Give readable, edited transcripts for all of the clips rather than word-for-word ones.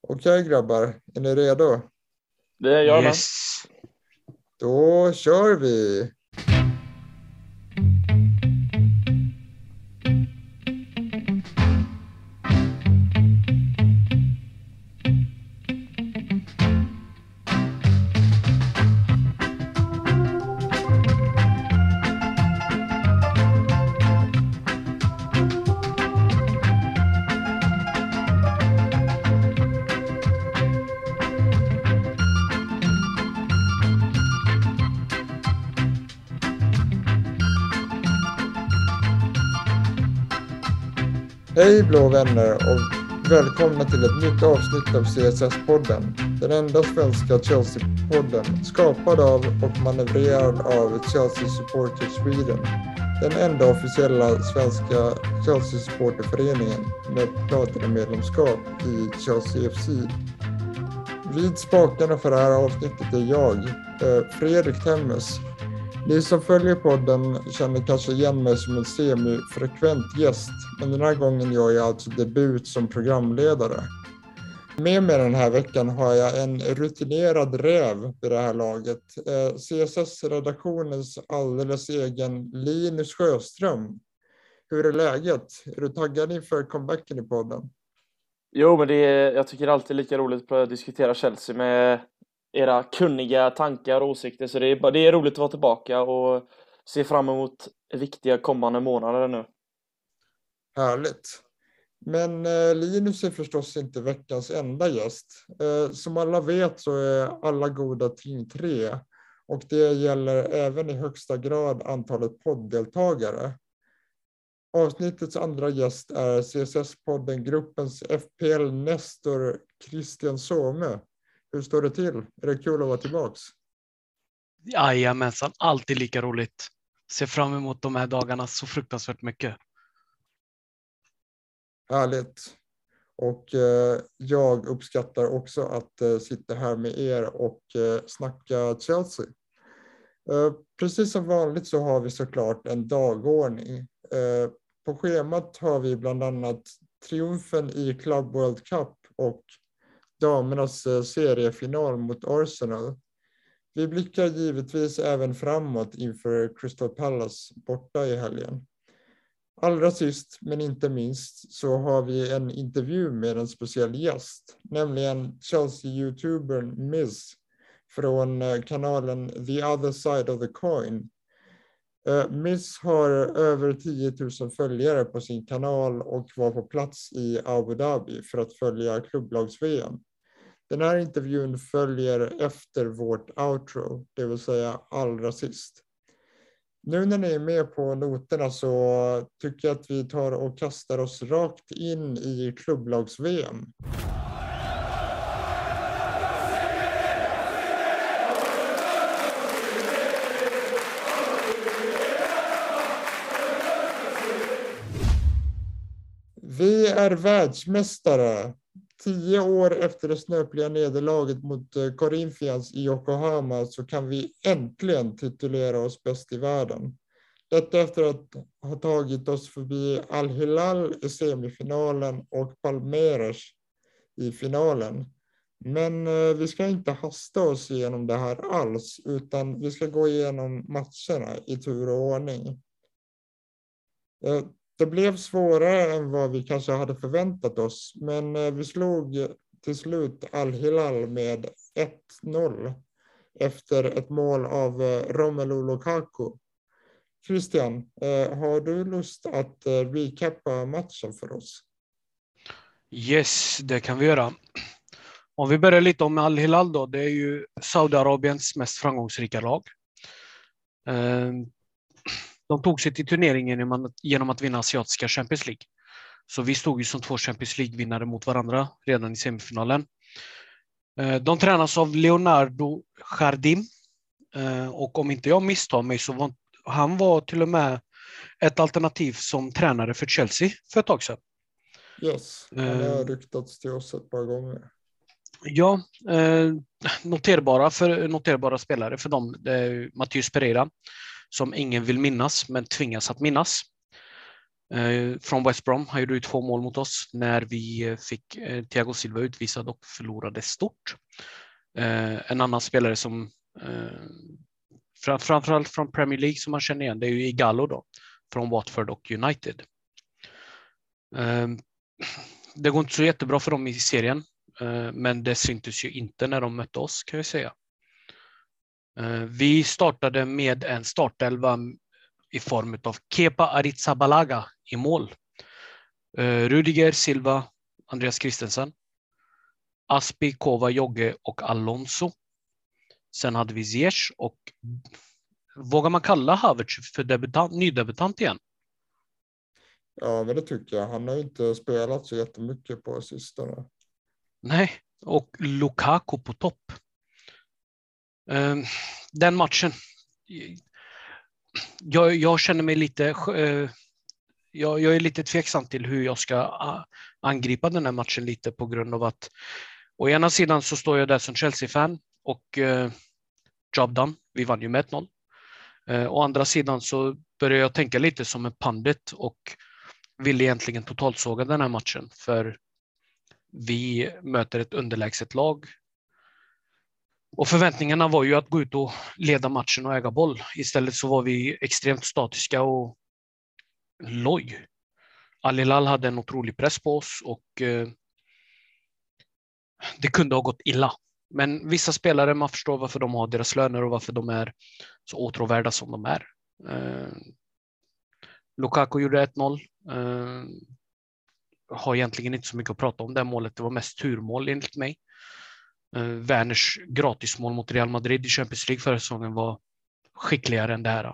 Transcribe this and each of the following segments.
Okej grabbar, är ni redo? Det gör jag med. Yes. Då kör vi! Hej blå vänner och välkomna till ett nytt avsnitt av CSS-podden. Den enda svenska Chelsea-podden skapad av och manövrerad av Chelsea Supporters Sweden. Den enda officiella svenska Chelsea-supporterföreningen med platinum-medlemskap i Chelsea FC. Vid spakarna för det här avsnittet är jag, Fredrik Temmes. Ni som följer podden känner kanske igen mig som en semi-frekvent gäst, men den här gången gör jag alltså debut som programledare. Med mig den här veckan har jag en rutinerad räv vid det här laget. CSS-redaktionens alldeles egen Linus Sjöström. Hur är läget? Är du taggad inför comebacken i podden? Jo, men jag tycker det är alltid lika roligt att diskutera Chelsea med era kunniga tankar och åsikter. Så det är roligt att vara tillbaka och se fram emot viktiga kommande månader nu. Härligt. Men Linus är förstås inte veckans enda gäst. Som alla vet så är alla goda ting tre. Och det gäller även i högsta grad antalet podddeltagare. Avsnittets andra gäst är CSS-podden-gruppens FPL-nestor Christian Somö. Hur står det till? Är det kul att vara tillbaks? Jajamensan, alltid lika roligt. Ser fram emot de här dagarna så fruktansvärt mycket. Härligt. Och jag uppskattar också att sitta här med er och snacka Chelsea. Precis som vanligt så har vi såklart en dagordning. På schemat har vi bland annat triumfen i Club World Cup och damernas seriefinal mot Arsenal. Vi blickar givetvis även framåt inför Crystal Palace borta i helgen. Allra sist men inte minst så har vi en intervju med en speciell gäst, nämligen Chelsea-youtubern Miz från kanalen The Other Side of the Coin. Miz har över 10 000 följare på sin kanal och var på plats i Abu Dhabi för att följa klubblags-VM. Den här intervjun följer efter vårt outro, det vill säga allra sist. Nu när ni är med på noterna så tycker jag att vi tar och kastar oss rakt in i klubblags-VM. Vi är världsmästare. 10 år efter det snöpliga nederlaget mot Corinthians i Yokohama så kan vi äntligen titulera oss bäst i världen. Detta efter att ha tagit oss förbi Al-Hilal i semifinalen och Palmeiras i finalen. Men vi ska inte hasta oss igenom det här alls, utan vi ska gå igenom matcherna i tur och ordning. Det blev svårare än vad vi kanske hade förväntat oss, men vi slog till slut Al-Hilal med 1-0 efter ett mål av Romelu Lukaku. Christian, har du lust att recappa matchen för oss? Yes, det kan vi göra. Om vi börjar lite om Al-Hilal då, det är ju Saudiarabiens mest framgångsrika lag. De tog sig till turneringen genom att vinna asiatiska Champions League. Så vi stod ju som 2 Champions League-vinnare mot varandra redan i semifinalen. De tränas av Leonardo Jardim. Och om inte jag misstar mig så var han till och med ett alternativ som tränare för Chelsea för ett tag sedan. Yes, han har ryktats till oss ett par gånger. Ja, noterbara spelare för dem. Det är Matheus Pereira som ingen vill minnas men tvingas att minnas. Från West Brom. Han gjorde 2 mål mot oss när vi fick Thiago Silva utvisad och förlorade stort. En annan spelare som framförallt från Premier League som man känner igen, det är ju Ighalo då, från Watford och United. Det går inte så jättebra för dem i serien, men det syntes ju inte när de mötte oss, kan jag säga. Vi startade med en startelva i form av Kepa Arrizabalaga i mål. Rudiger, Silva, Andreas Christensen, Aspi, Kova, Jogge och Alonso. Sen hade vi Ziyech och vågar man kalla Havertz för nydebutant igen? Ja, men det tycker jag. Han har inte spelat så jättemycket på sistone. Nej, och Lukaku på topp. Den matchen. Jag känner mig lite... Jag är lite tveksam till hur jag ska angripa den här matchen lite på grund av att å ena sidan så står jag där som Chelsea-fan och job done. Vi vann ju med 1-0. Å andra sidan så börjar jag tänka lite som en pandit och vill egentligen totalsåga den här matchen för vi möter ett underlägset lag. Och förväntningarna var ju att gå ut och leda matchen och äga boll. Istället så var vi extremt statiska och loj. Al Hilal hade en otrolig press på oss och det kunde ha gått illa. Men vissa spelare, man förstår varför de har deras löner och varför de är så åtråvärda som de är. Lukaku gjorde 1-0. Har egentligen inte så mycket att prata om det målet. Det var mest turmål enligt mig. Werners gratismål mot Real Madrid i Champions League förra säsongen var skickligare än det här.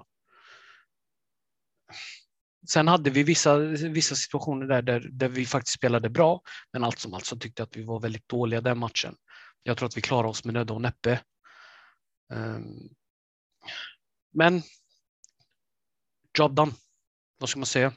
Sen hade vi vissa situationer där vi faktiskt spelade bra, men allt som allt så tyckte jag att vi var väldigt dåliga den matchen. Jag tror att vi klarar oss med nöd och näppe. Men job done. Vad ska man säga?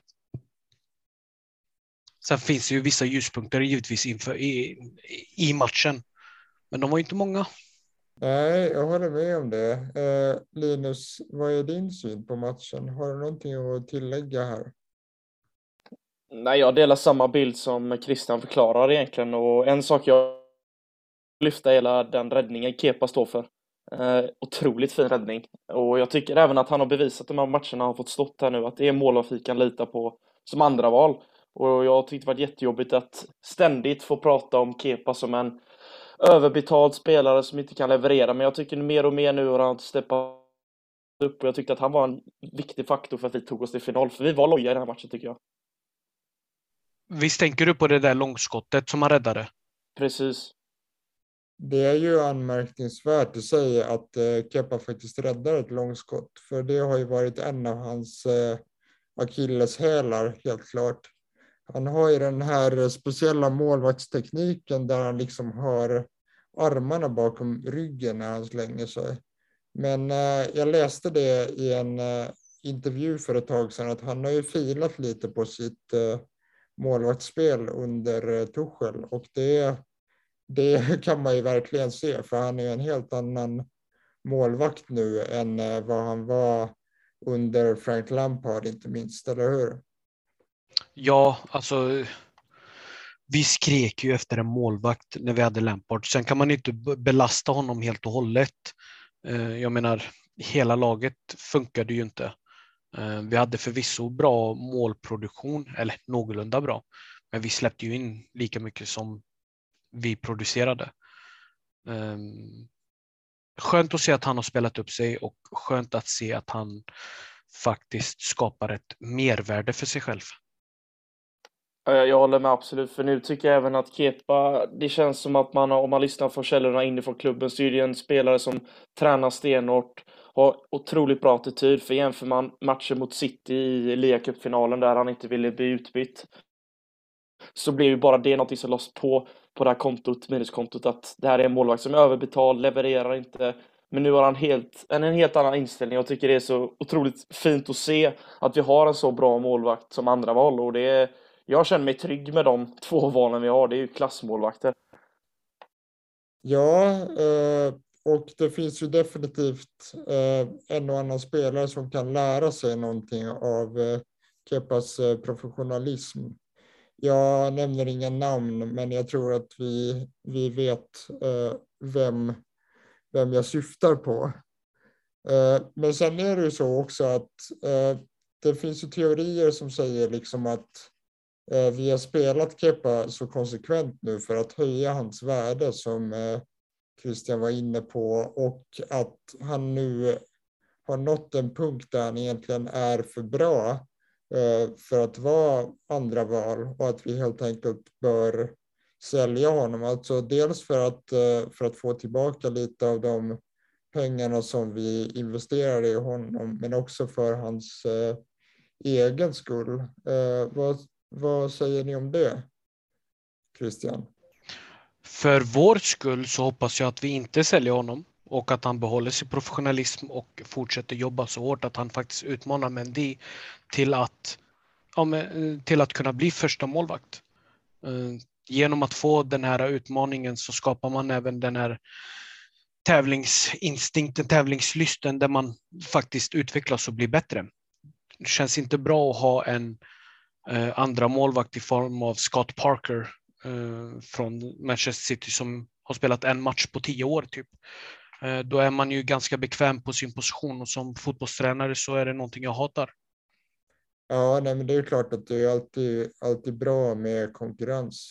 Sen finns det ju vissa ljuspunkter givetvis inför i matchen. Men de var inte många. Nej, jag håller med om det. Linus, vad är din syn på matchen? Har du någonting att tillägga här? Nej, jag delar samma bild som Christian förklarar egentligen. Och en sak jag lyfta hela den räddningen Kepa står för. Otroligt fin räddning. Och jag tycker även att han har bevisat de här matcherna han fått stått här nu. Att det är mål vi kan lita på som andra val. Och jag tyckte det var jättejobbigt att ständigt få prata om Kepa som en överbetald spelare som inte kan leverera. Men jag tycker mer och mer nu har han steppat upp. Och jag tyckte att han var en viktig faktor för att vi tog oss till final. För vi var loja i den här matchen tycker jag. Visst tänker du på det där långskottet som han räddade? Precis. Det är ju anmärkningsvärt att säga att Kepa faktiskt räddar ett långskott. För det har ju varit en av hans akilleshälar, helt klart. Han har ju den här speciella målvaktstekniken där han liksom har armarna bakom ryggen när han slänger sig. Men jag läste det i en intervju för ett tag sedan att han har ju filat lite på sitt målvaktsspel under Tuchel. Och det kan man ju verkligen se, för han är en helt annan målvakt nu än vad han var under Frank Lampard, inte minst, eller hur? Ja, alltså vi skrek ju efter en målvakt när vi hade Lampard. Sen kan man inte belasta honom helt och hållet. Jag menar, hela laget funkade ju inte. Vi hade förvisso bra målproduktion, eller någorlunda bra. Men vi släppte ju in lika mycket som vi producerade. Skönt att se att han har spelat upp sig och skönt att se att han faktiskt skapar ett mervärde för sig själv. Jag håller med absolut, för nu tycker jag även att Kepa, det känns som att man, om man lyssnar på källorna inifrån klubben, så är det en spelare som tränar stenhårt, har otroligt bra attityd. För jämför man matchen mot City i Liga-cupfinalen där han inte ville bli utbytt, så blir ju bara det något som loss på det här kontot, minuskontot, att det här är en målvakt som är överbetald, levererar inte. Men nu har han en helt annan inställning. Jag tycker det är så otroligt fint att se att vi har en så bra målvakt som andra val. Och jag känner mig trygg med de 2 valen vi har. Det är ju klassmålvakter. Ja, och det finns ju definitivt en och annan spelare som kan lära sig någonting av Kepas professionalism. Jag nämner inga namn, men jag tror att vi vet vem jag syftar på. Men sen är det ju så också att det finns ju teorier som säger liksom att vi har spelat Kepa så konsekvent nu för att höja hans värde, som Christian var inne på, och att han nu har nått en punkt där han egentligen är för bra för att vara andra val, och att vi helt enkelt bör sälja honom. Alltså dels för att få tillbaka lite av de pengarna som vi investerade i honom, men också för hans egen skull. Vad säger ni om det, Christian? För vår skull så hoppas jag att vi inte säljer honom och att han behåller sin professionalism och fortsätter jobba så hårt att han faktiskt utmanar Mendy till att kunna bli första målvakt. Genom att få den här utmaningen så skapar man även den här tävlingsinstinkten, tävlingslysten, där man faktiskt utvecklas och blir bättre. Det känns inte bra att ha en andra målvakt i form av Scott Parker från Manchester City som har spelat en match på 10 år typ. Då är man ju ganska bekväm på sin position, och som fotbollstränare så är det någonting jag hatar. Ja, nej, men det är klart att det är alltid bra med konkurrens.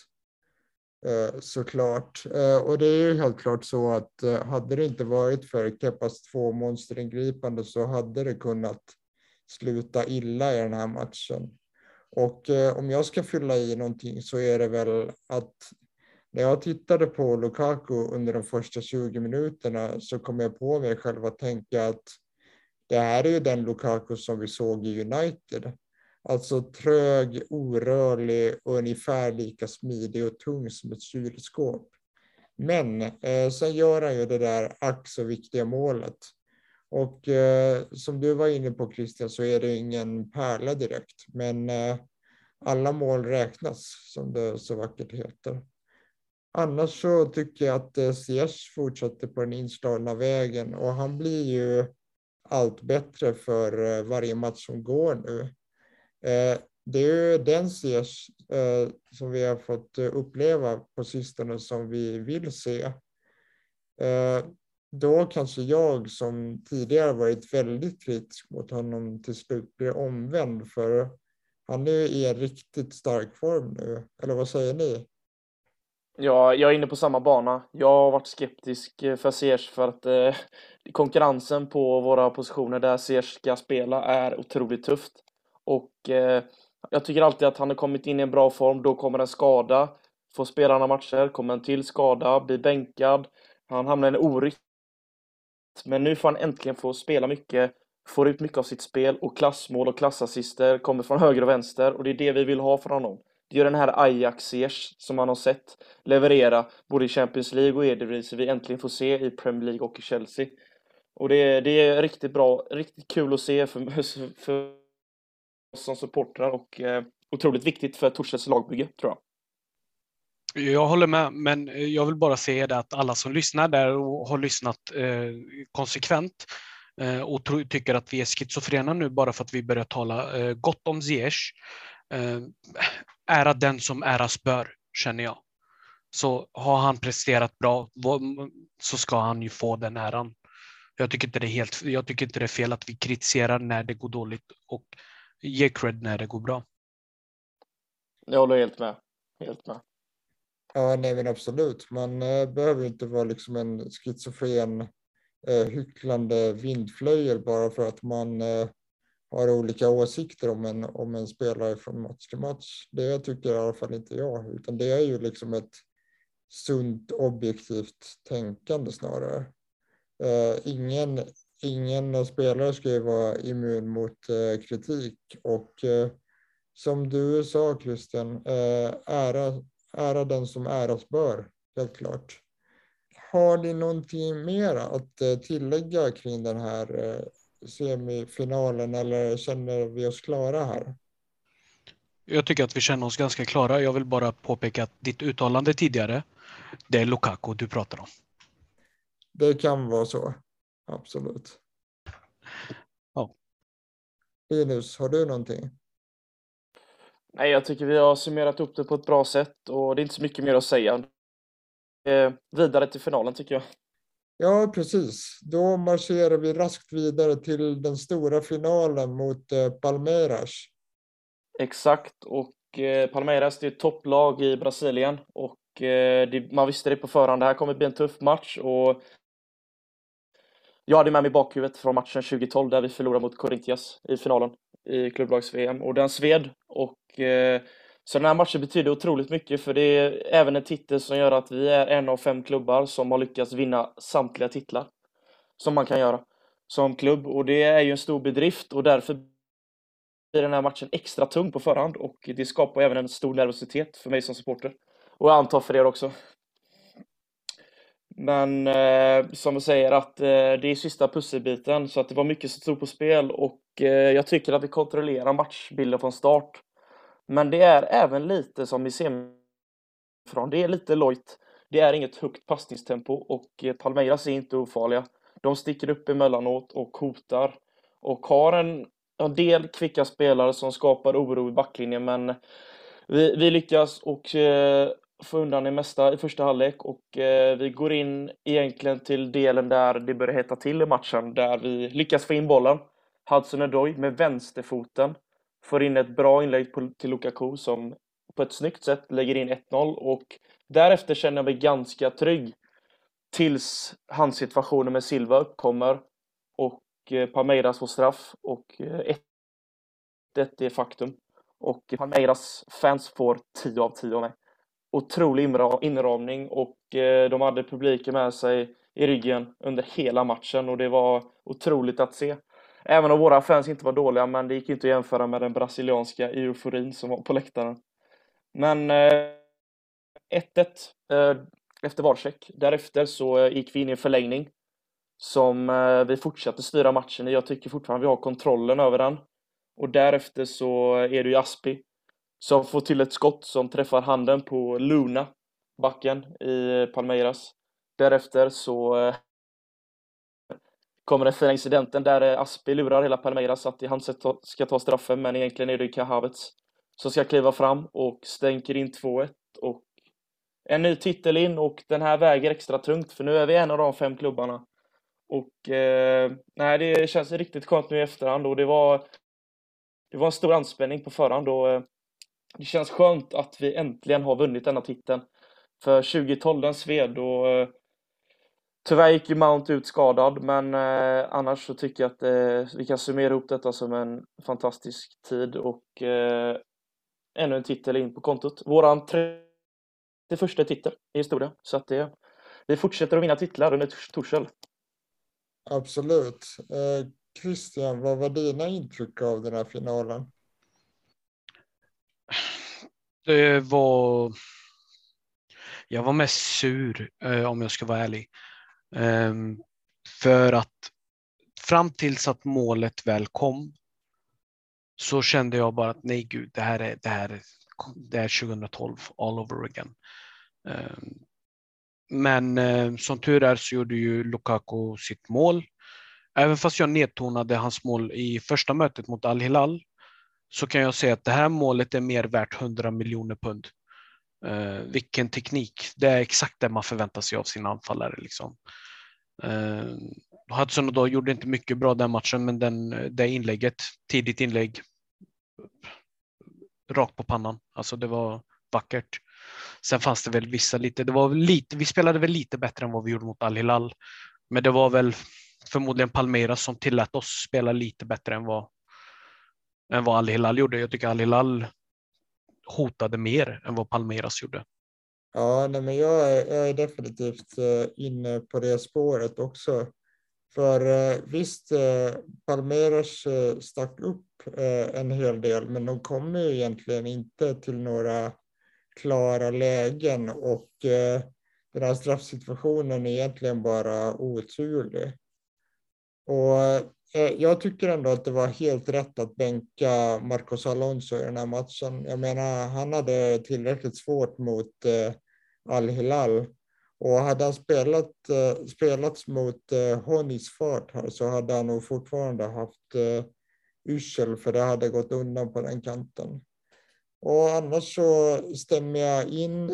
Såklart. Och det är ju helt klart så att hade det inte varit för Kepas 2 monsteringripande så hade det kunnat sluta illa i den här matchen. Och om jag ska fylla i någonting så är det väl att när jag tittade på Lukaku under de första 20 minuterna så kom jag på mig själv att tänka att det här är ju den Lukaku som vi såg i United. Alltså trög, orörlig och ungefär lika smidig och tung som ett kylskåp. Men sen gör han ju det där ack så viktiga målet. Och som du var inne på, Christian, så är det ingen pärla direkt. Men alla mål räknas, som det så vackert heter. Annars så tycker jag att Ziyech fortsätter på den inslagna vägen. Och han blir ju allt bättre för varje match som går nu. Det är ju den Ziyech som vi har fått uppleva på sistone som vi vill se. Då kanske jag som tidigare varit väldigt kritisk mot honom till slut blir omvänd, för han är i en riktigt stark form nu. Eller vad säger ni? Ja, jag är inne på samma bana. Jag har varit skeptisk för Ziyech för att konkurrensen på våra positioner där Ziyech ska spela är otroligt tufft. Och jag tycker alltid att han har kommit in i en bra form. Då kommer en skada, får spela några matcher, kommer en till skada, blir bänkad. Han hamnar i en orytm. Men nu får han äntligen få spela mycket, får ut mycket av sitt spel, och klassmål och klassassister kommer från höger och vänster, och det är det vi vill ha från honom. Det är den här Ajax-Ziyech som man har sett leverera både i Champions League och Eredivisie vi äntligen får se i Premier League och i Chelsea. Och det är riktigt bra, riktigt kul att se för oss som supportrar, och otroligt viktigt för Torshälls lagbygge, tror jag. Jag håller med, men jag vill bara säga det att alla som lyssnar där och har lyssnat konsekvent och tycker att vi är schizofrena nu bara för att vi börjar tala gott om Ziyech, ära den som äras bör, känner jag. Så har han presterat bra så ska han ju få den äran. Jag tycker inte det är fel att vi kritiserar när det går dåligt och ger cred när det går bra. Jag håller helt med. Helt med. Ja, nej men absolut. Man behöver inte vara liksom en schizofren hycklande vindflöjel bara för att man har olika åsikter om en spelare från match till match. Det tycker i alla fall inte jag, utan det är ju liksom ett sunt objektivt tänkande snarare. Ingen spelare ska ju vara immun mot kritik, och som du sa, Christian, ära den som äras bör, helt klart. Har ni någonting mer att tillägga kring den här semifinalen, eller känner vi oss klara här? Jag tycker att vi känner oss ganska klara. Jag vill bara påpeka att ditt uttalande tidigare, det är Lukaku du pratar om. Det kan vara så, absolut. Ja. Linus, har du någonting? Nej, jag tycker vi har summerat upp det på ett bra sätt och det är inte så mycket mer att säga. Vidare till finalen tycker jag. Ja, precis. Då marscherar vi raskt vidare till den stora finalen mot Palmeiras. Exakt, och Palmeiras det är ett topplag i Brasilien och man visste det på förhand. Det här kommer bli en tuff match och jag hade med mig bakhuvudet från matchen 2012 där vi förlorade mot Corinthians i finalen i klubblags-VM och den sved och så den här matchen betyder otroligt mycket för det är även en titel som gör att vi är en av 5 klubbar som har lyckats vinna samtliga titlar som man kan göra som klubb och det är ju en stor bedrift och därför blir den här matchen extra tung på förhand och det skapar även en stor nervositet för mig som supporter och jag antar för er också. Men som jag säger att det är sista pusselbiten så att det var mycket som stod på spel och jag tycker att vi kontrollerar matchbilden från start. Men det är även lite som i semifrån. Det är lite lojt. Det är inget högt passningstempo och Palmeiras är inte ofarliga. De sticker upp emellanåt och hotar och har en del kvicka spelare som skapar oro i backlinjen men vi lyckas och få undan det mesta i första halvlek och vi går in egentligen till delen där det börjar hetta till i matchen där vi lyckas få in bollen. Hudson-Odoi med vänsterfoten får in ett bra inlägg till Lukaku som på ett snyggt sätt lägger in 1-0 och därefter känner jag mig ganska trygg tills hans situationen med Silva uppkommer och Palmeiras får straff och 1-1 är faktum. Och Palmeiras fans får 10 av 10 av mig. Otrolig inramning och de hade publiken med sig i ryggen under hela matchen och det var otroligt att se. Även om våra fans inte var dåliga men det gick inte att jämföra med den brasilianska euforin som var på läktaren. Men 1-1 efter varcheck. Därefter så gick vi in i en förlängning som vi fortsatte styra matchen. Jag tycker fortfarande vi har kontrollen över den. Och därefter så är det ju Aspi som får till ett skott som träffar handen på Luna, backen i Palmeiras. Därefter så kommer den fina incidenten där Aspi lurar hela Palmeiras att han ska ta straffen, men egentligen är det Kai Havertz som ska kliva fram och stänker in 2-1 och en ny titel in och den här väger extra tungt för nu är vi en av de 5 klubbarna. Och nej, det känns riktigt skönt nu i efterhand och det var en stor anspänning på förhand och det känns skönt att vi äntligen har vunnit denna titeln. För 2012 den sved och tyvärr gick ju Mount ut skadad men annars så tycker jag att vi kan summera ihop detta som en fantastisk tid och ännu en titel in på kontot. Våran 31:a titel i historien så att vi fortsätter att vinna titlar under Tuchel. Absolut. Christian, vad var dina intryck av den här finalen? Jag var mest sur om jag ska vara ärlig. För att fram tills att målet väl kom så kände jag bara att nej gud, det här är 2012 all over again. Men som tur är så gjorde ju Lukaku sitt mål. Även fast jag nedtonade hans mål i första mötet mot Al Hilal så kan jag säga att det här målet är mer värt 100 miljoner pund. Vilken teknik. Det är exakt det man förväntar sig av sina anfallare. Liksom. Hudson då gjorde inte mycket bra den matchen men det inlägget, tidigt inlägg rakt på pannan. Alltså det var vackert. Sen fanns det väl vi spelade väl lite bättre än vad vi gjorde mot Al Hilal. Men det var väl förmodligen Palmeiras som tillät oss spela lite bättre än vad Al Hilal gjorde. Jag tycker Al Hilal hotade mer än vad Palmeiras gjorde. Ja, nej, men jag är definitivt inne på det spåret också. För visst, Palmeiras stack upp en hel del, men de kommer ju egentligen inte till några klara lägen och den här straffsituationen är egentligen bara oturlig. Och jag tycker ändå att det var helt rätt att bänka Marcos Alonso i den här matchen. Jag menar, han hade tillräckligt svårt mot Al Hilal. Och hade han spelats mot Honis fart här så hade han nog fortfarande haft yrsel för det hade gått undan på den kanten. Och annars så stämmer jag in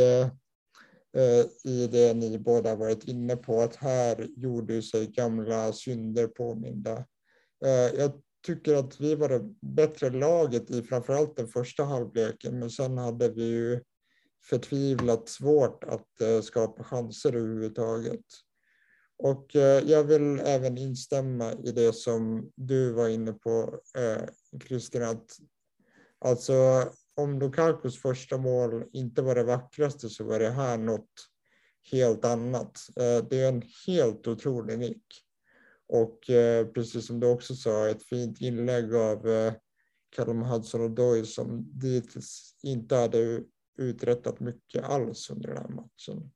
i det ni båda varit inne på, att här gjorde sig gamla synder påminda. Jag tycker att vi var det bättre laget i framförallt den första halvleken, men sen hade vi ju förtvivlat svårt att skapa chanser överhuvudtaget. Och jag vill även instämma i det som du var inne på, Christian, att alltså om Lukakus första mål inte var det vackraste så var det här något helt annat. Det är en helt otrolig nick. Och precis som du också sa, ett fint inlägg av Callum Hudson-Odoi som dittills inte hade uträttat mycket alls under den här matchen.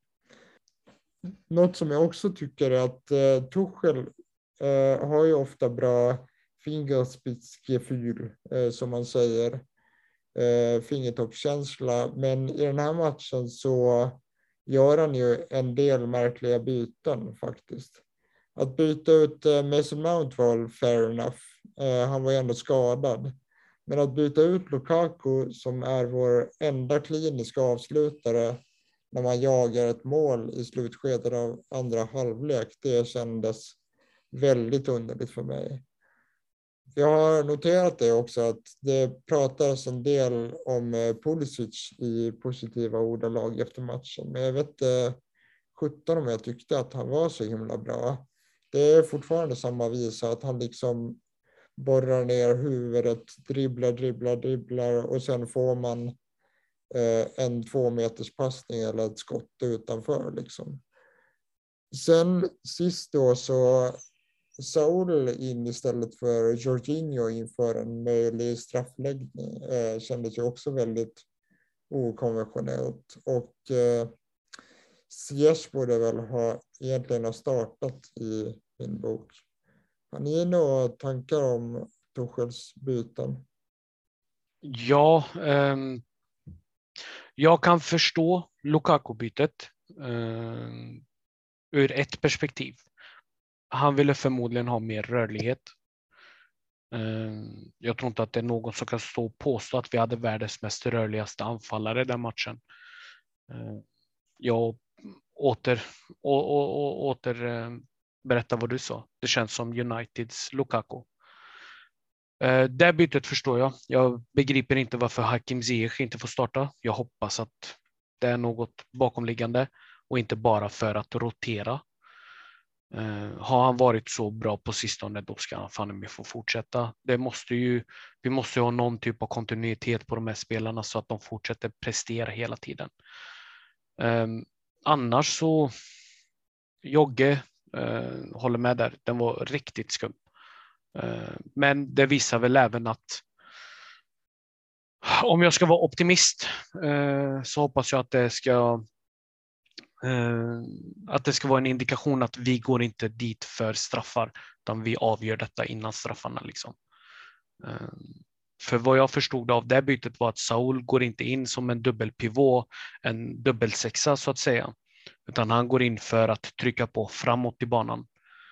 Något som jag också tycker är att Tuchel har ju ofta bra fingerspitzgefühl, som man säger, fingertoppskänsla, men i den här matchen så gör han ju en del märkliga byten faktiskt. Att byta ut Mason Mount var fair enough, han var ju ändå skadad. Men att byta ut Lukaku som är vår enda kliniska avslutare när man jagar ett mål i slutskedet av andra halvlek, det kändes väldigt underligt för mig. Jag har noterat det också, att det pratas en del om Pulisic i positiva ordalag efter matchen. Men jag vet 17 om jag tyckte att han var så himla bra. Det är fortfarande samma visa, att han liksom borrar ner huvudet, dribblar och sen får man en 2 meters passning eller ett skott utanför liksom. Sen sist då så Saul in istället för Jorginho inför en möjlig straffläggning kändes ju också väldigt okonventionellt, och Ziyech borde väl egentligen ha startat i min bok. Har ni några tankar om Tuchels byten? Ja, jag kan förstå Lukaku-bytet ur ett perspektiv. Han ville förmodligen ha mer rörlighet. Jag tror inte att det är någon som kan stå och påstå att vi hade världens mest rörligaste anfallare den matchen. Jag åter berätta vad du sa. Det känns som Uniteds Lukaku. Det bytet förstår jag. Jag begriper inte varför Hakim Ziyech inte får starta. Jag hoppas att det är något bakomliggande och inte bara för att rotera. Har han varit så bra på sistone, då ska han fan få fortsätta. Vi måste ju ha någon typ av kontinuitet på de här spelarna så att de fortsätter prestera hela tiden. Annars så Jogge håller med där. Den var riktigt skum. Men det visar väl även att om jag ska vara optimist så hoppas jag att det ska vara en indikation att vi går inte dit för straffar, utan vi avgör detta innan straffarna liksom. För vad jag förstod av det bytet var att Saul går inte in som en dubbelpivot, en dubbelsexa så att säga, utan han går in för att trycka på framåt i banan.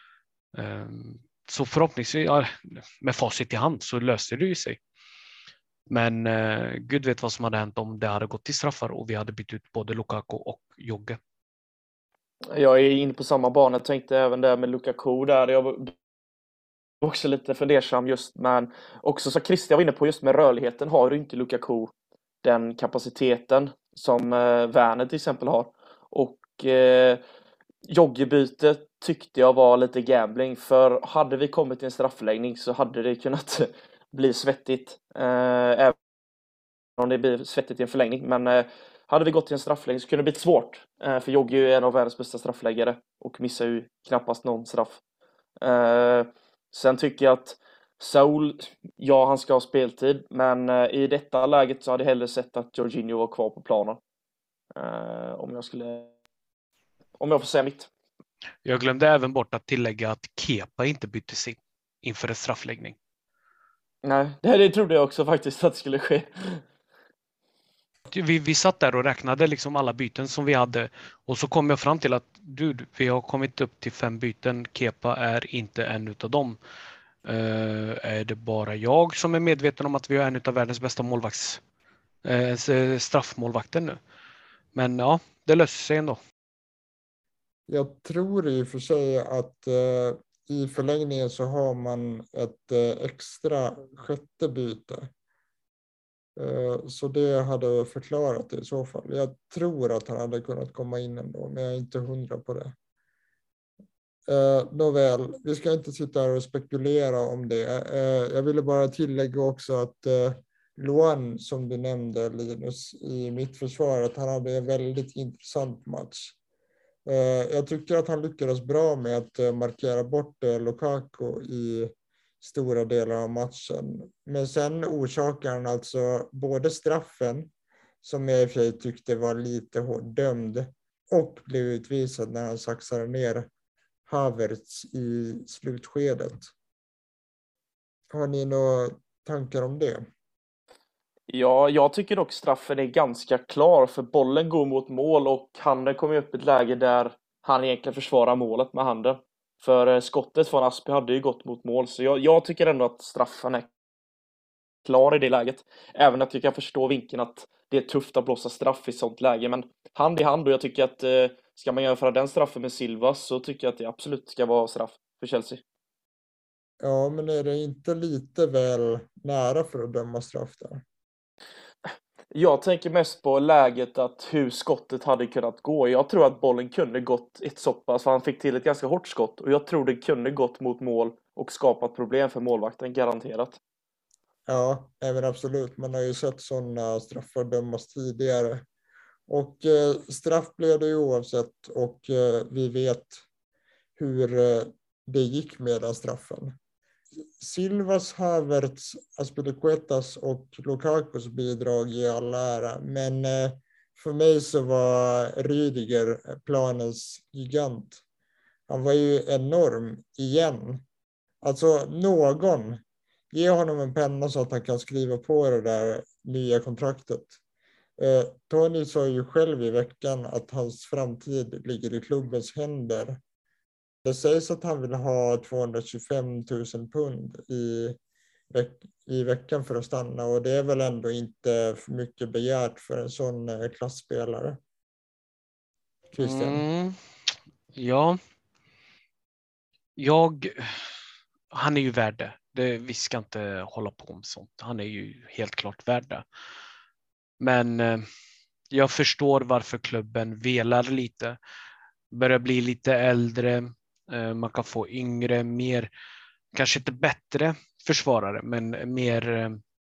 Så förhoppningsvis, ja, med facit i hand så löste det ju sig. Men Gud vet vad som hade hänt om det hade gått till straffar och vi hade bytt ut både Lukaku och Jogge. Jag är inne på samma bana. Jag tänkte även där med Lukaku där. Jag var också lite fundersam just, men också så Christian var inne på just med rörligheten har ju inte Lukaku den kapaciteten som Werner till exempel har. Och Joggebytet tyckte jag var lite gambling, för hade vi kommit till en straffläggning så hade det kunnat bli svettigt. Även om det blir svettigt i en förlängning, men hade vi gått till en straffläggning så kunde det bli svårt. För Jogge är ju en av världens bästa straffläggare och missar ju knappast någon straff. Sen tycker jag att Saul, ja, han ska ha speltid, men i detta läget så hade jag hellre sett att Jorginho var kvar på planen. Om jag får säga mitt. Jag glömde även bort att tillägga att Kepa inte byttes in inför en straffläggning. Nej, det trodde jag också faktiskt att det skulle ske. Vi satt där och räknade liksom alla byten som vi hade, och så kom jag fram till att vi har kommit upp till 5 byten. Kepa är inte en utav dem. Är det bara jag som är medveten om att vi har en av världens bästa straffmålvakten nu. Men ja, det löser sig ändå. Jag tror i och för sig att i förlängningen så har man ett extra sjätte byte. Så det hade förklarat det i så fall. Jag tror att han hade kunnat komma in ändå, men jag är inte 100 på det. Nåväl, vi ska inte sitta här och spekulera om det. Jag ville bara tillägga också att Luan, som du nämnde Linus, i mitt försvar, att han hade en väldigt intressant match. Jag tycker att han lyckades bra med att markera bort Lukaku i stora delar av matchen. Men sen orsakar han alltså både straffen, som jag i och för sig tyckte var lite hårt dömd, och blev utvisad när han saxade ner Havertz i slutskedet. Har ni några tankar om det? Ja, jag tycker dock straffen är ganska klar, för bollen går mot mål och handen kommer upp i ett läge där han egentligen försvarar målet med handen. För skottet från Aspi hade ju gått mot mål, så jag tycker ändå att straffen är klar i det läget. Även att jag kan förstå vinkeln att det är tufft att blåsa straff i sånt läge, men hand i hand, och jag tycker att ska man jämföra den straffen med Silva, så tycker jag att det absolut ska vara straff för Chelsea. Ja, men är det inte lite väl nära för att döma straff där? Jag tänker mest på läget att hur skottet hade kunnat gå. Jag tror att bollen kunde gått ett så pass, för han fick till ett ganska hårt skott. Och jag tror det kunde gått mot mål och skapat problem för målvakten, garanterat. Ja, även absolut. Man har ju sett sådana straffar dömas tidigare. Och straff blev det ju oavsett, och vi vet hur det gick med den straffen. Silvas, Havertz, Azpilicuetas och Lukakus bidrag i all ära, men för mig så var Rüdiger planens gigant. Han var ju enorm igen. Alltså ge honom en penna så att han kan skriva på det där nya kontraktet. Tony sa ju själv i veckan att hans framtid ligger i klubbens händer. Det sägs att han vill ha 225 000 pund i veckan för att stanna, och det är väl ändå inte för mycket begärt för en sån klassspelare. Christian? Ja, han är ju värd det. Vi ska inte hålla på med sånt. Han är ju helt klart värd det. Men jag förstår varför klubben velar lite. Börjar bli lite äldre. Man kan få yngre, mer, kanske inte bättre försvarare, men mer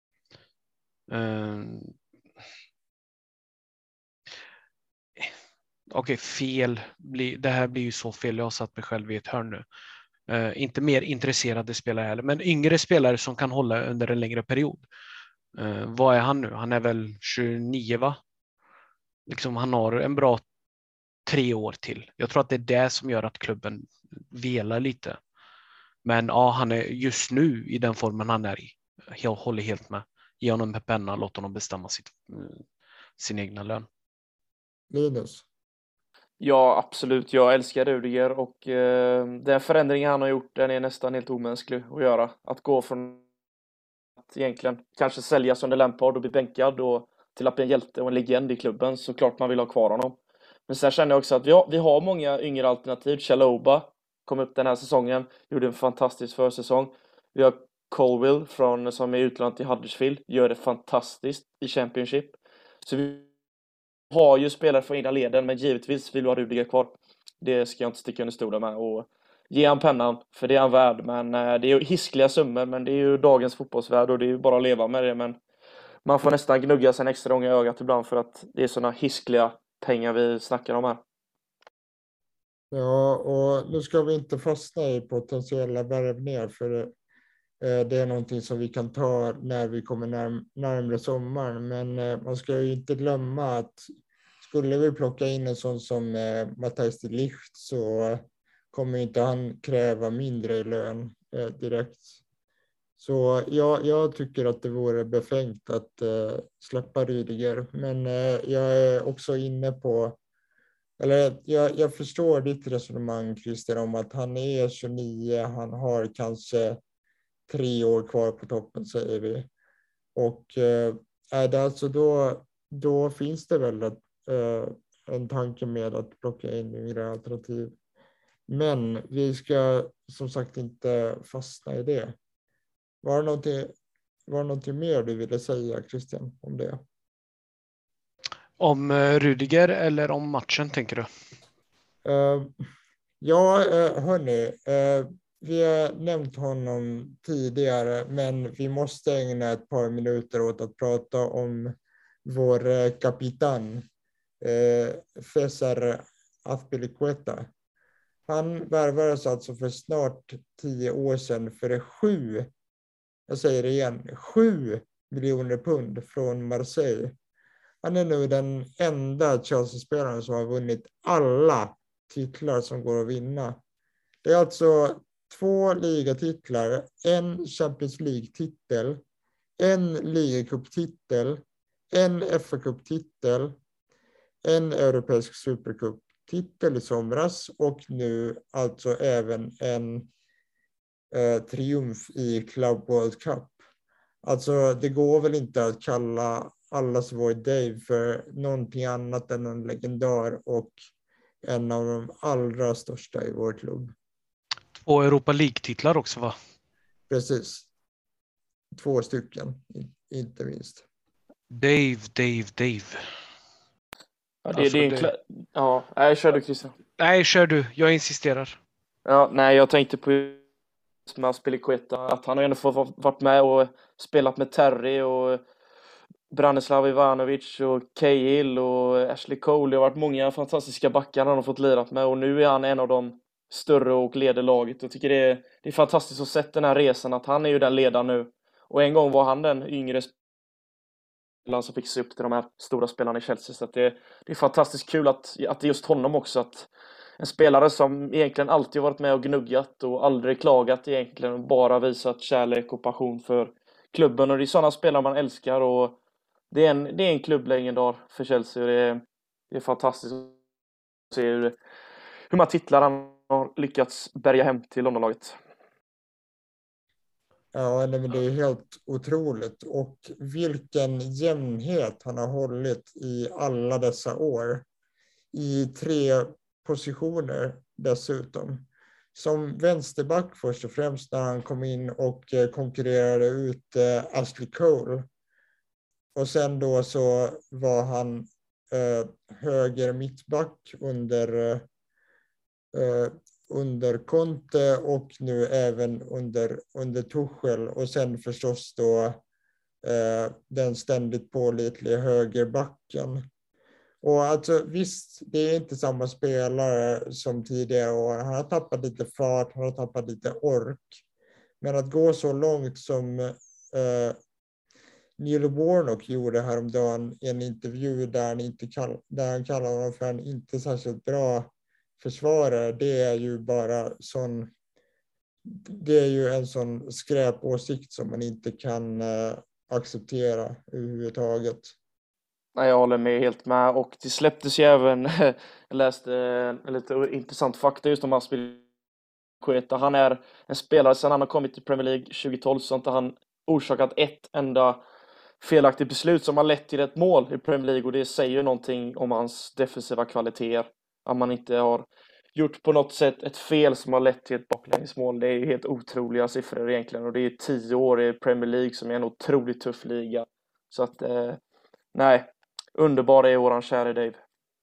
fel. Det här blir ju så fel. Jag har satt mig själv i ett hörn nu. Inte mer intresserade spelare heller, men yngre spelare som kan hålla under en längre period. Vad är han nu? Han är väl 29, va? Liksom, han har en bra 3 år till. Jag tror att det är det som gör att klubben velar lite. Men ja, han är just nu i den formen han är i. Jag håller helt med. Ge honom en penna, låt honom bestämma sin egna lön. Linus? Ja, absolut. Jag älskar Rudiger, och den förändringen han har gjort, den är nästan helt omänsklig att göra. Att gå från att egentligen kanske säljas under Lampard och bli bänkad och till att bli en hjälte och en legend i klubben, så klart man vill ha kvar honom. Men sen känner jag också att vi har många yngre alternativ. Chalobah kom upp den här säsongen, gjorde en fantastisk försäsong. Vi har Colwill som är utlånad till Huddersfield, gör det fantastiskt i Championship. Så vi har ju spelare från egna leden, men givetvis vill vi ha Rudiger kvar. Det ska jag inte sticka under stolen med, och ge han pennan, för det är han värd. Men det är ju hiskliga summor, men det är ju dagens fotbollsvärld, och det är ju bara att leva med det. Men man får nästan gnugga sig en extra gång i ögat ibland, för att det är sådana hiskliga pengar vi snackar om här. Ja, och nu ska vi inte fastna i potentiella värvningar, för det är någonting som vi kan ta när vi kommer närmare sommaren. Men man ska ju inte glömma att skulle vi plocka in en sån som Matthijs de Ligt, så kommer inte han kräva mindre i lön direkt. Så jag tycker att det vore befängt att släppa Rüdiger. Men jag är också inne på, eller jag förstår ditt resonemang, Christer, om att han är 29, han har kanske 3 år kvar på toppen, säger vi. Och är det alltså då finns det väl en tanke med att plocka in yngre alternativ. Men vi ska som sagt inte fastna i det. Var det någonting mer du ville säga, Christian, om det? Om Rudiger eller om matchen tänker du? Ja, hörni. Vi har nämnt honom tidigare, men vi måste ägna ett par minuter åt att prata om vår kapitan, Cesar Azpilicueta. Han värvades alltså för snart 10 år sedan för 7 miljoner pund från Marseille. Han är nu den enda Chelsea-spelaren som har vunnit alla titlar som går att vinna. Det är alltså 2 ligatitlar, en Champions League-titel, en ligacuptitel, en FA-cuptitel, en europeisk supercup-titel i somras och nu alltså även en triumf i Club World Cup. Alltså det går väl inte att kalla allas vår Dave för någonting annat än en legendar och en av de allra största i vår klubb. 2 Europa League-titlar också va? Precis. 2 stycken, inte minst. Dave. Ja, Alltså, ja, nej, kör du Christian. Nej, kör du. Jag insisterar. Ja, nej, jag tänkte på med Azpilicueta, att han har ändå fått varit med och spelat med Terry och Branislav Ivanovic och Cahill och Ashley Cole. Det har varit många fantastiska backar han har fått lirat med och nu är han en av de större och leder laget. Jag tycker det är fantastiskt att se den här resan, att han är ju den ledaren nu. Och en gång var han den yngre spelaren som fick se upp till de här stora spelarna i Chelsea. Så att det är fantastiskt kul att det är just honom också, att en spelare som egentligen alltid varit med och gnuggat och aldrig klagat egentligen, och bara visat kärlek och passion för klubben. Och det är sådana spelare man älskar, och det är en klubblegendar för Chelsea, och det är fantastiskt att se hur man titlar han har lyckats bärga hem till Londonlaget. Ja, men det är helt otroligt. Och vilken jämnhet han har hållit i alla dessa år. I 3 positioner dessutom. Som vänsterback först och främst när han kom in och konkurrerade ut Ashley Cole. Och sen då så var han höger mittback under Conte och nu även under Tuchel, och sen förstås då den ständigt pålitliga högerbacken. Och alltså visst, det är inte samma spelare som tidigare år. Han har tappat lite fart, han har tappat lite ork. Men att gå så långt som Neil Warnock gjorde häromdagen i en intervju där han kallar honom för en inte särskilt bra försvarare, det är ju en sån skräpåsikt som man inte kan acceptera överhuvudtaget. Nej, jag håller med helt med, och det släpptes ju även jag läste en lite intressant fakta just om Azpilicueta. Han är en spelare sedan han har kommit till Premier League 2012, så inte han orsakat ett enda felaktigt beslut som har lett till ett mål i Premier League, och det säger ju någonting om hans defensiva kvaliteter, att man inte har gjort på något sätt ett fel som har lett till ett baklängesmål. Det är ju helt otroliga siffror egentligen, och det är 10 år i Premier League som är en otroligt tuff liga. Så att nej, underbar är våran kära Dave.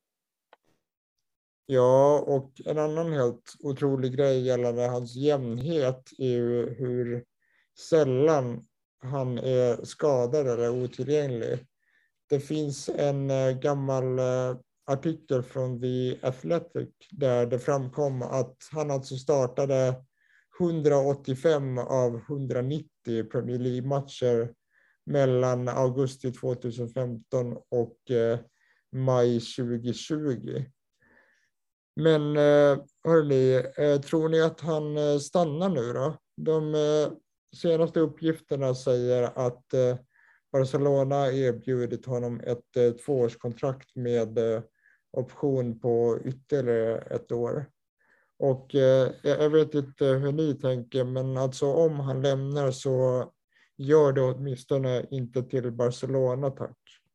Ja, och en annan helt otrolig grej gällande hans jämnhet är ju hur sällan han är skadad eller otillgänglig. Det finns en gammal artikel från The Athletic där det framkom att han alltså startade 185 av 190 Premier League-matcher mellan augusti 2015 och maj 2020. Men hörni, tror ni att han stannar nu då? De senaste uppgifterna säger att Barcelona erbjudit honom ett 2-årskontrakt med option på ytterligare 1 år. Och jag vet inte hur ni tänker, men alltså om han lämnar så gör det åtminstone inte till Barcelona, tack.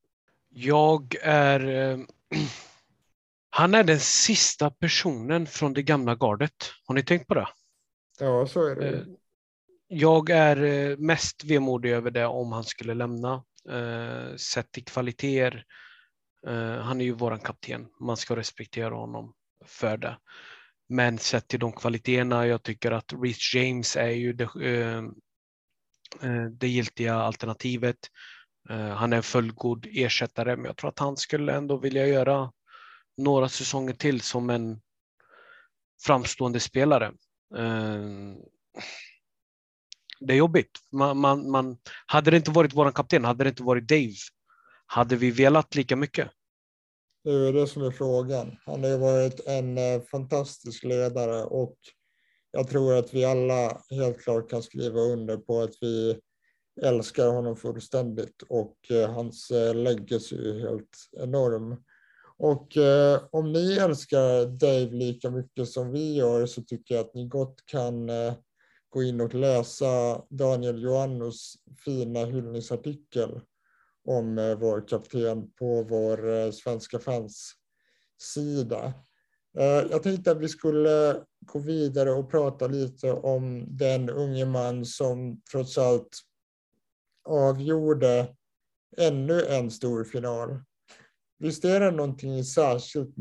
Han är den sista personen från det gamla gardet. Har ni tänkt på det? Ja, så är det ju. Jag är mest vemodig över det om han skulle lämna. Sett till kvaliteter. Han är ju våran kapten. Man ska respektera honom för det. Men sett till de kvaliteterna, jag tycker att Reece James är ju det giltiga alternativet. Han är en fullgod ersättare, men jag tror att han skulle ändå vilja göra några säsonger till som en framstående spelare. Det är jobbigt. Hade det inte varit våran kapten, hade det inte varit Dave, hade vi velat lika mycket? Det är det som är frågan. Han har ju varit en fantastisk ledare och jag tror att vi alla helt klart kan skriva under på att vi älskar honom fullständigt och hans legacy är helt enorm. Och om ni älskar Dave lika mycket som vi gör så tycker jag att ni gott kan gå in och läsa Daniel Joannos fina hyllningsartikel om vår kapten på vår svenska fans sida. Jag tänkte att vi skulle gå vidare och prata lite om den unge man som trots allt avgjorde ännu en stor final. Visst är det någonting särskilt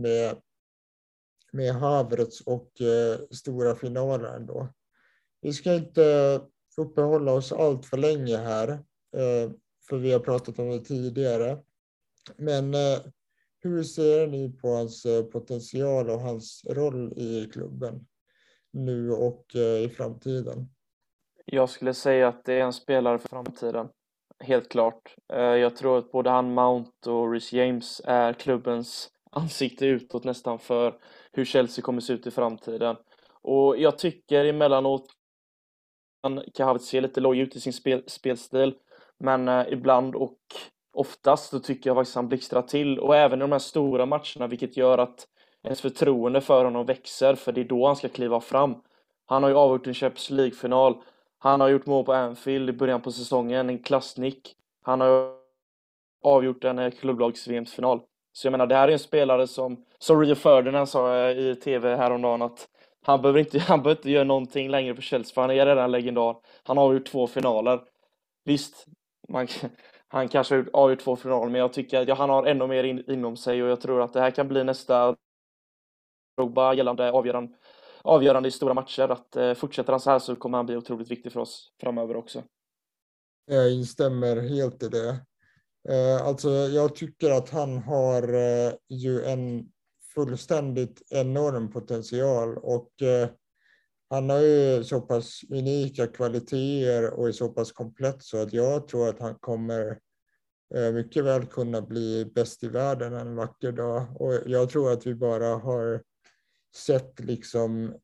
med Havertz och stora finaler ändå. Vi ska inte uppehålla oss allt för länge här, för vi har pratat om det tidigare. Men hur ser ni på hans potential och hans roll i klubben nu och i framtiden? Jag skulle säga att det är en spelare för framtiden. Helt klart. Jag tror att både han, Mount och Reece James är klubbens ansikte utåt nästan för hur Chelsea kommer se ut i framtiden. Och jag tycker emellanåt han kan se lite loj ut i sin spelstil. Men ibland och oftast så tycker jag faktiskt han blixtrar till. Och även i de här stora matcherna, vilket gör att ens förtroende för honom växer. För det är då han ska kliva fram. Han har ju avgjort en Champions League-final. Han har gjort mål på Anfield i början på säsongen, en klassnick. Han har avgjort en klubblags-VM-final. Så jag menar, det här är en spelare som Rio Ferdinand sa i tv häromdagen att han behöver inte göra någonting längre för Chelsea, för han är redan en legendar. Han har avgjort 2 finaler. Visst, han kanske har avgjort 2 finaler, men jag tycker att han har ännu mer inom sig och jag tror att det här kan bli nästa Drogba gällande avgörande i stora matcher. Att fortsätter han så här så kommer han bli otroligt viktig för oss framöver också. Jag instämmer helt i det. Alltså jag tycker att han har ju en fullständigt enorm potential och han har ju så pass unika kvaliteter och är så pass komplett så att jag tror att han kommer mycket väl kunna bli bäst i världen en vacker dag. Och jag tror att vi bara har sett liksom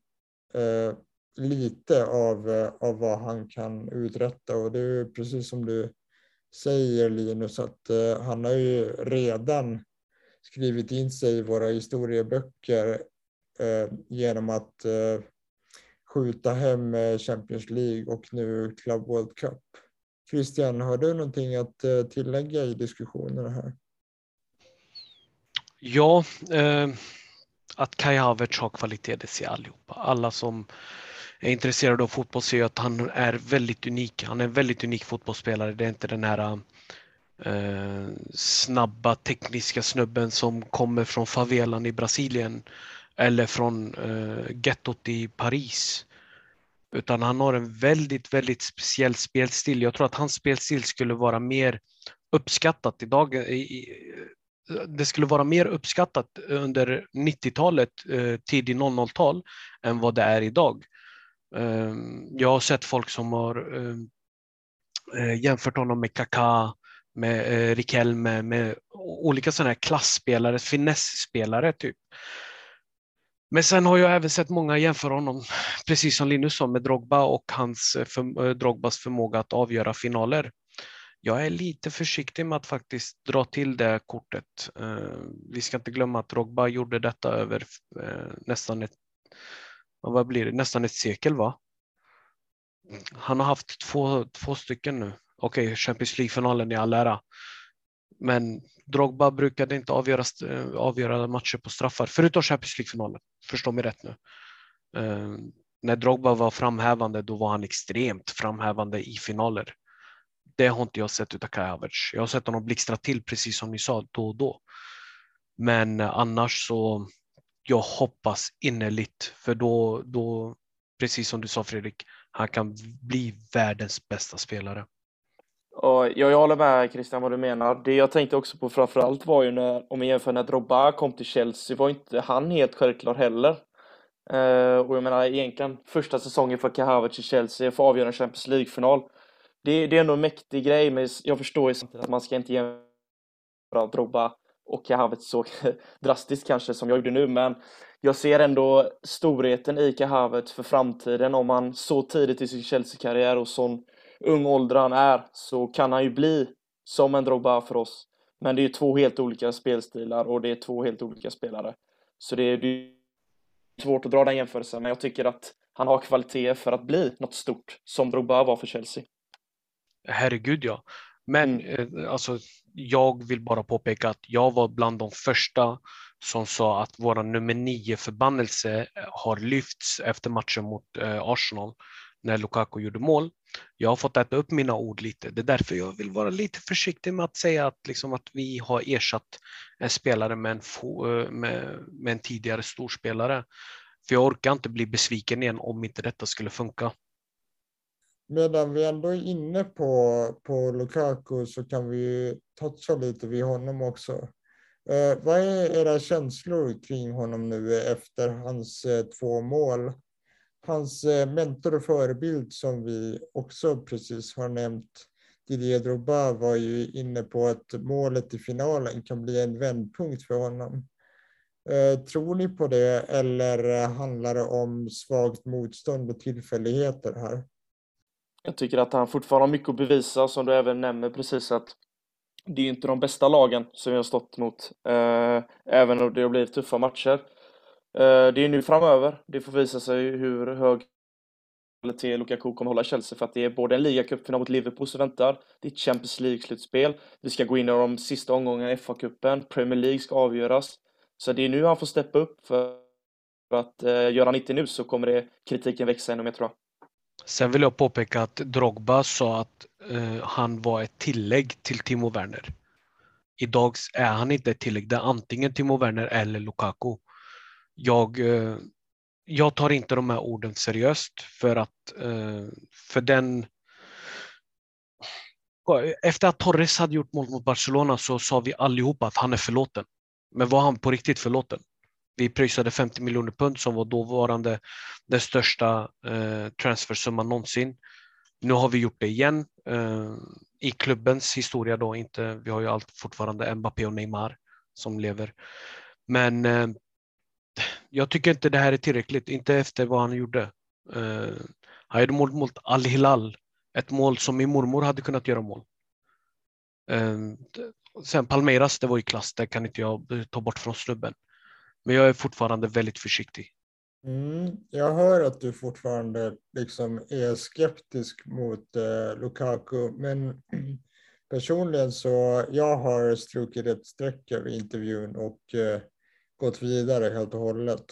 lite av vad han kan uträtta och det är precis som du säger Linus att han har ju redan skrivit in sig i våra historieböcker genom att skjuta hem Champions League och nu Club World Cup. Christian, har du någonting att tillägga i diskussionerna här? Ja, att Kai Havertz har kvalitet, det ser allihopa. Alla som är intresserade av fotboll ser att han är väldigt unik. Han är en väldigt unik fotbollsspelare. Det är inte den här snabba tekniska snubben som kommer från favelan i Brasilien eller från gettot i Paris. Utan han har en väldigt, väldigt speciell spelstil. Jag tror att hans spelstil skulle vara mer uppskattat idag. Det skulle vara mer uppskattat under 90-talet, tidig 00-tal än vad det är idag. Jag har sett folk som har jämfört honom med Kaká, med Riquelme, med olika sådana här klassspelare, finessspelare typ. Men sen har jag även sett många jämföra honom, precis som Linus sa, med Drogba och Drogbas förmåga att avgöra finaler. Jag är lite försiktig med att faktiskt dra till det kortet. Vi ska inte glömma att Drogba gjorde detta över nästan ett sekel, va? Han har haft två stycken nu Okej, Champions League-finalen i all ära. Men Drogba brukade inte avgöra matcher på straffar, förutom Champions League-finalen. Förstå mig rätt nu. När Drogba var framhävande, då var han extremt framhävande i finaler. Det har inte jag sett utav Kai Havertz. Jag har sett honom blixtra till, precis som ni sa, då och då. Men annars så, jag hoppas innerligt, för då precis som du sa Fredrik, han kan bli världens bästa spelare. Och jag håller med Christian vad du menar. Det jag tänkte också på framförallt var ju när, om vi jämför när Drogba kom till Chelsea, var inte han helt självklar heller. Och jag menar egentligen första säsongen för Kai Havertz i Chelsea för att avgöra en Champions League-final. Det är ändå en mäktig grej, men jag förstår ju samtidigt att man ska inte jämföra Drogba och Kai Havertz så drastiskt kanske som jag gjorde nu, men jag ser ändå storheten i Kai Havertz för framtiden. Om man så tidigt i sin Chelsea-karriär och sån ung ålder han är, så kan han ju bli som en Drogba för oss. Men det är ju två helt olika spelstilar och det är två helt olika spelare. Så det är svårt att dra den jämförelsen, men jag tycker att han har kvalitet för att bli något stort som Drogba var för Chelsea. Herregud ja. Men alltså, jag vill bara påpeka att jag var bland de första som sa att våra nummer 9 förbannelse har lyfts efter matchen mot Arsenal när Lukaku gjorde mål. Jag har fått äta upp mina ord lite. Det är därför jag vill vara lite försiktig med att säga att, liksom, att vi har ersatt en spelare med en tidigare storspelare. För jag orkar inte bli besviken igen om inte detta skulle funka. Medan vi ändå är inne på Lukaku så kan vi toucha lite vid honom också. Vad är era känslor kring honom nu efter hans 2 mål? Hans mentor och förebild som vi också precis har nämnt, Didier Drogba, var ju inne på att målet i finalen kan bli en vändpunkt för honom. Tror ni på det, eller handlar det om svagt motstånd och tillfälligheter här? Jag tycker att han fortfarande har mycket att bevisa, som du även nämner precis, att det är inte de bästa lagen som vi har stått mot, även om det har blivit tuffa matcher. Det är nu framöver, det får visa sig hur hög kvalitet Lukaku kommer hålla Chelsea, för att det är både en ligacupfinal mot Liverpool som väntar, det är ett Champions League-slutspel, vi ska gå in i de sista omgångarna i FA-cupen, Premier League ska avgöras. Så det är nu han får steppa upp, för att gör han inte nu så kommer kritiken växa ännu mer, tror jag. Sen vill jag påpeka att Drogba sa att han var ett tillägg till Timo Werner. Idag är han inte ett tillägg, det är antingen Timo Werner eller Lukaku. Jag tar inte de här orden seriöst, för att efter att Torres hade gjort mål mot Barcelona så sa vi allihopa att han är förlåten. Men var han på riktigt förlåten? Vi pröjsade 50 miljoner pund som var dåvarande den största transfersumman någonsin. Nu har vi gjort det igen i klubbens historia då, inte, vi har ju fortfarande Mbappé och Neymar som lever. Men jag tycker inte det här är tillräckligt, inte efter vad han gjorde. Han gjorde mål mot Al-Hilal, ett mål som min mormor hade kunnat göra mål. Sen Palmeiras, det var ju klass, det kan inte jag ta bort från snubben. Men jag är fortfarande väldigt försiktig. Jag hör att du fortfarande liksom är skeptisk mot Lukaku, men personligen så jag har strukit ett streck över intervjun och gått vidare helt och hållet.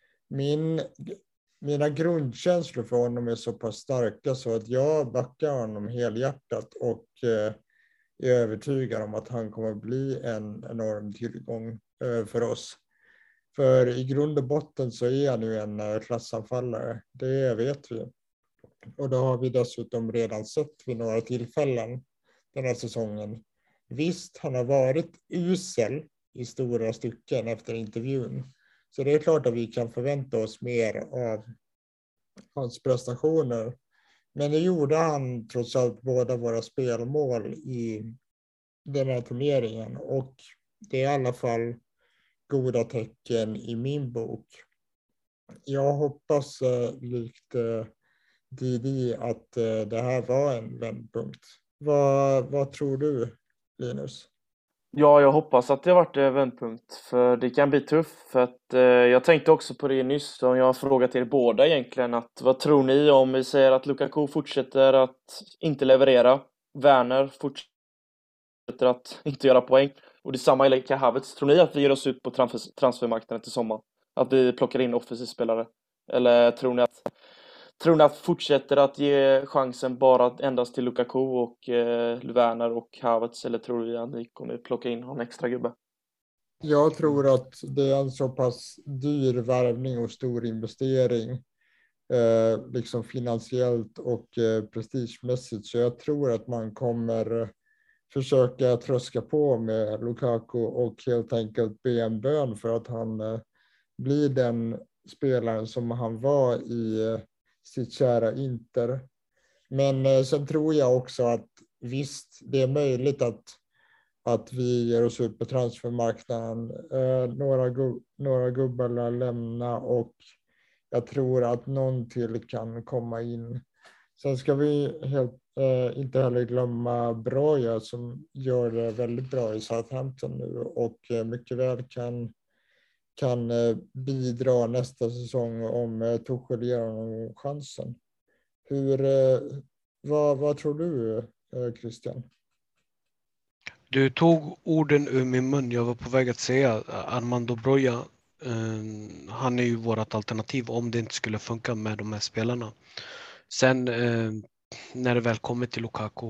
Mina grundkänslor för honom är så pass starka så att jag backar honom helhjärtat och är övertygad om att han kommer bli en enorm tillgång för oss. För i grund och botten så är han ju en klassanfallare, det vet vi. Och då har vi dessutom redan sett vid några tillfällen den här säsongen. Visst, han har varit usel i stora stycken efter intervjun. Så det är klart att vi kan förvänta oss mer av hans prestationer. Men det gjorde han trots allt båda våra spelmål i den här turneringen. Och det är i alla fall goda tecken i min bok. Jag hoppas likt Didi att det här var en vändpunkt. Vad tror du, Linus? Ja, jag hoppas att det har varit en vändpunkt, för det kan bli tufft. För att jag tänkte också på det nyss, och jag har frågat er båda egentligen, att vad tror ni om vi säger att Lukaku fortsätter att inte leverera? Werner fortsätter att inte göra poäng. Och detsamma gäller Kai Havertz. Tror ni att vi ger oss ut på transfermarknaden till sommar? Att vi plockar in offensiv spelare? Eller tror ni att fortsätter att ge chansen bara endast till Lukaku och Werner och Havertz? Eller tror ni att ni kommer plocka in någon extra gubbe? Jag tror att det är en så pass dyr värvning och stor investering, liksom finansiellt och prestigemässigt, så jag tror att man kommer försöka tröska på med Lukaku och helt enkelt be en bön för att han blir den spelaren som han var i sitt kära Inter. Men sen tror jag också att visst, det är möjligt att vi ger oss ut på transfermarknaden. Några gubbar lär lämna och jag tror att någon till kan komma in. Sen ska vi inte heller glömma Broja som gör det väldigt bra i Southampton nu och mycket väl kan bidra nästa säsong om Tuchel ger honom chansen. Vad tror du, Christian? Du tog orden ur min mun. Jag var på väg att säga Armando Broja. Han är ju vårt alternativ om det inte skulle funka med de här spelarna. Sen när det väl kommer till Lukaku.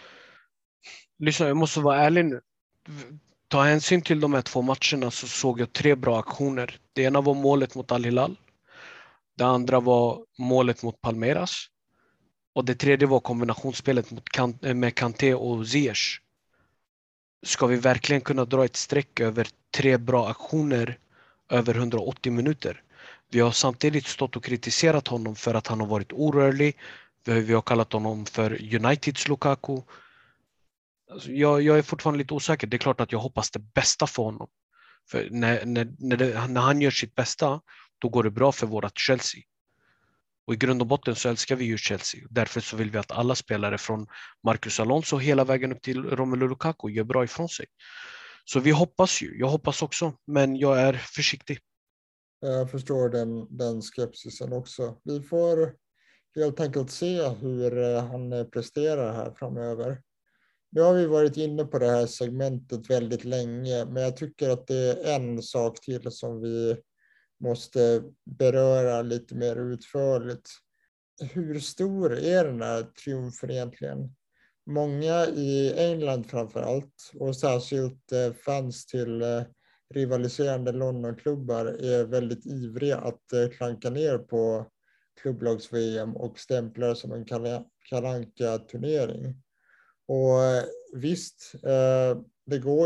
Lyssna, jag måste vara ärlig nu. Ta hänsyn till de här 2 matcherna så såg jag 3 bra aktioner. Det ena var målet mot Al Hilal. Det andra var målet mot Palmeiras. Och det tredje var kombinationsspelet med Kanté och Ziyech. Ska vi verkligen kunna dra ett streck över 3 bra aktioner över 180 minuter? Vi har samtidigt stått och kritiserat honom för att han har varit orörlig. Vi har kallat honom för Uniteds Lukaku. Alltså jag är fortfarande lite osäker. Det är klart att jag hoppas det bästa för honom. För när han gör sitt bästa, då går det bra för vårat Chelsea. Och i grund och botten så älskar vi ju Chelsea. Därför så vill vi att alla spelare från Marcus Alonso hela vägen upp till Romelu Lukaku gör bra ifrån sig. Så vi hoppas ju. Jag hoppas också, men jag är försiktig. Jag förstår den skepsisen också. Vi får helt enkelt se hur han presterar här framöver. Nu har vi varit inne på det här segmentet väldigt länge, men jag tycker att det är en sak till som vi måste beröra lite mer utförligt. Hur stor är den här triumfen egentligen? Många i England framför allt, och särskilt fans till rivaliserande Londonklubbar, är väldigt ivriga att klanka ner på klubblags-VM och stämplar som en kalanka-turnering. Och visst, det går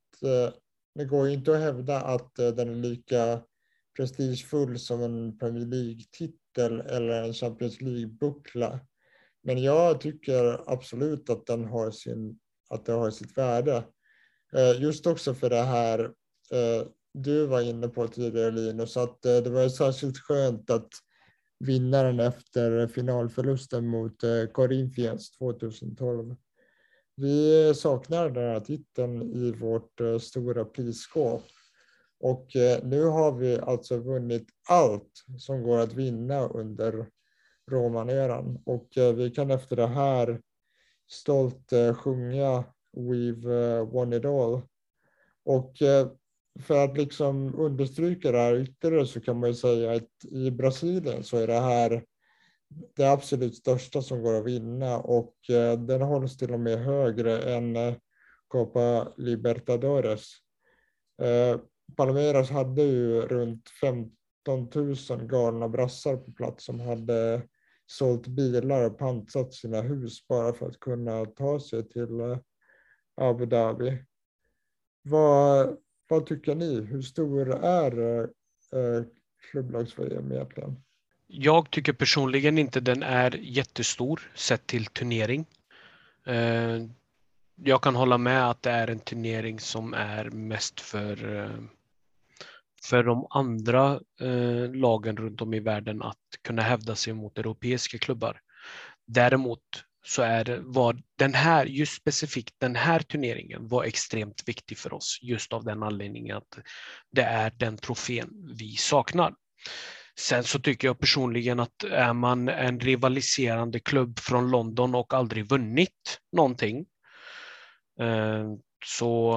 ju inte att hävda att den är lika prestigefull som en Premier League-titel eller en Champions League-buckla. Men jag tycker absolut att det har sitt värde. Just också för det här du var inne på tidigare, Linus, att det var särskilt skönt att vinnaren efter finalförlusten mot Corinthians 2012. Vi saknar den här titeln i vårt stora prisskåp. Och nu har vi alltså vunnit allt som går att vinna under Roman-eran. Och vi kan efter det här stolt sjunga We've won it all. Och för att liksom understryka det här ytterligare så kan man ju säga att i Brasilien så är det här det absolut största som går att vinna, och den hålls till och med högre än Copa Libertadores. Palmeiras hade ju runt 15 000 galna brassar på plats som hade sålt bilar och pantsat sina hus bara för att kunna ta sig till Abu Dhabi. Vad tycker ni? Hur stor är klubblags-VM egentligen? Jag tycker personligen inte den är jättestor sett till turnering. Jag kan hålla med att det är en turnering som är mest för de andra lagen runt om i världen att kunna hävda sig mot europeiska klubbar. Däremot så var just specifikt den här turneringen var extremt viktig för oss just av den anledningen att det är den trofén vi saknar. Sen så tycker jag personligen att är man en rivaliserande klubb från London och aldrig vunnit någonting, så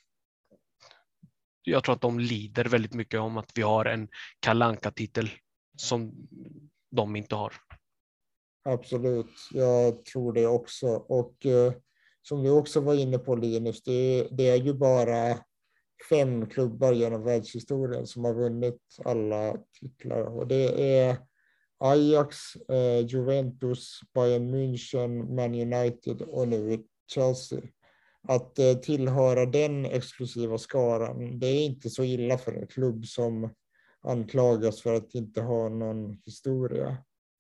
jag tror att de lider väldigt mycket om att vi har en Kalle Anka-titel som de inte har. Absolut, jag tror det också. Och som du också var inne på, Linus, det är ju bara 5 klubbar genom världshistorien som har vunnit alla titlar. Och det är Ajax, Juventus, Bayern München, Man United och nu Chelsea. Att tillhöra den exklusiva skaran, det är inte så illa för en klubb som anklagas för att inte ha någon historia.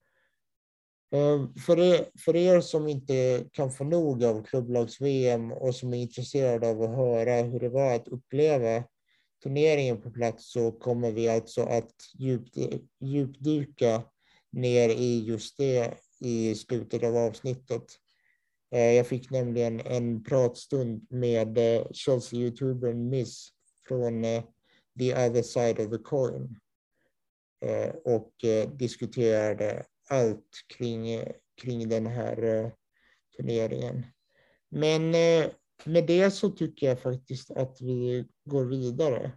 För er som inte kan få nog av klubblags-VM och som är intresserade av att höra hur det var att uppleva turneringen på plats, så kommer vi alltså att djupdyka ner i just det i slutet av avsnittet. Jag fick nämligen en pratstund med Chelsea-youtubern Miss från The Other Side of the Coin och diskuterade allt kring den här turneringen. Men med det så tycker jag faktiskt att vi går vidare.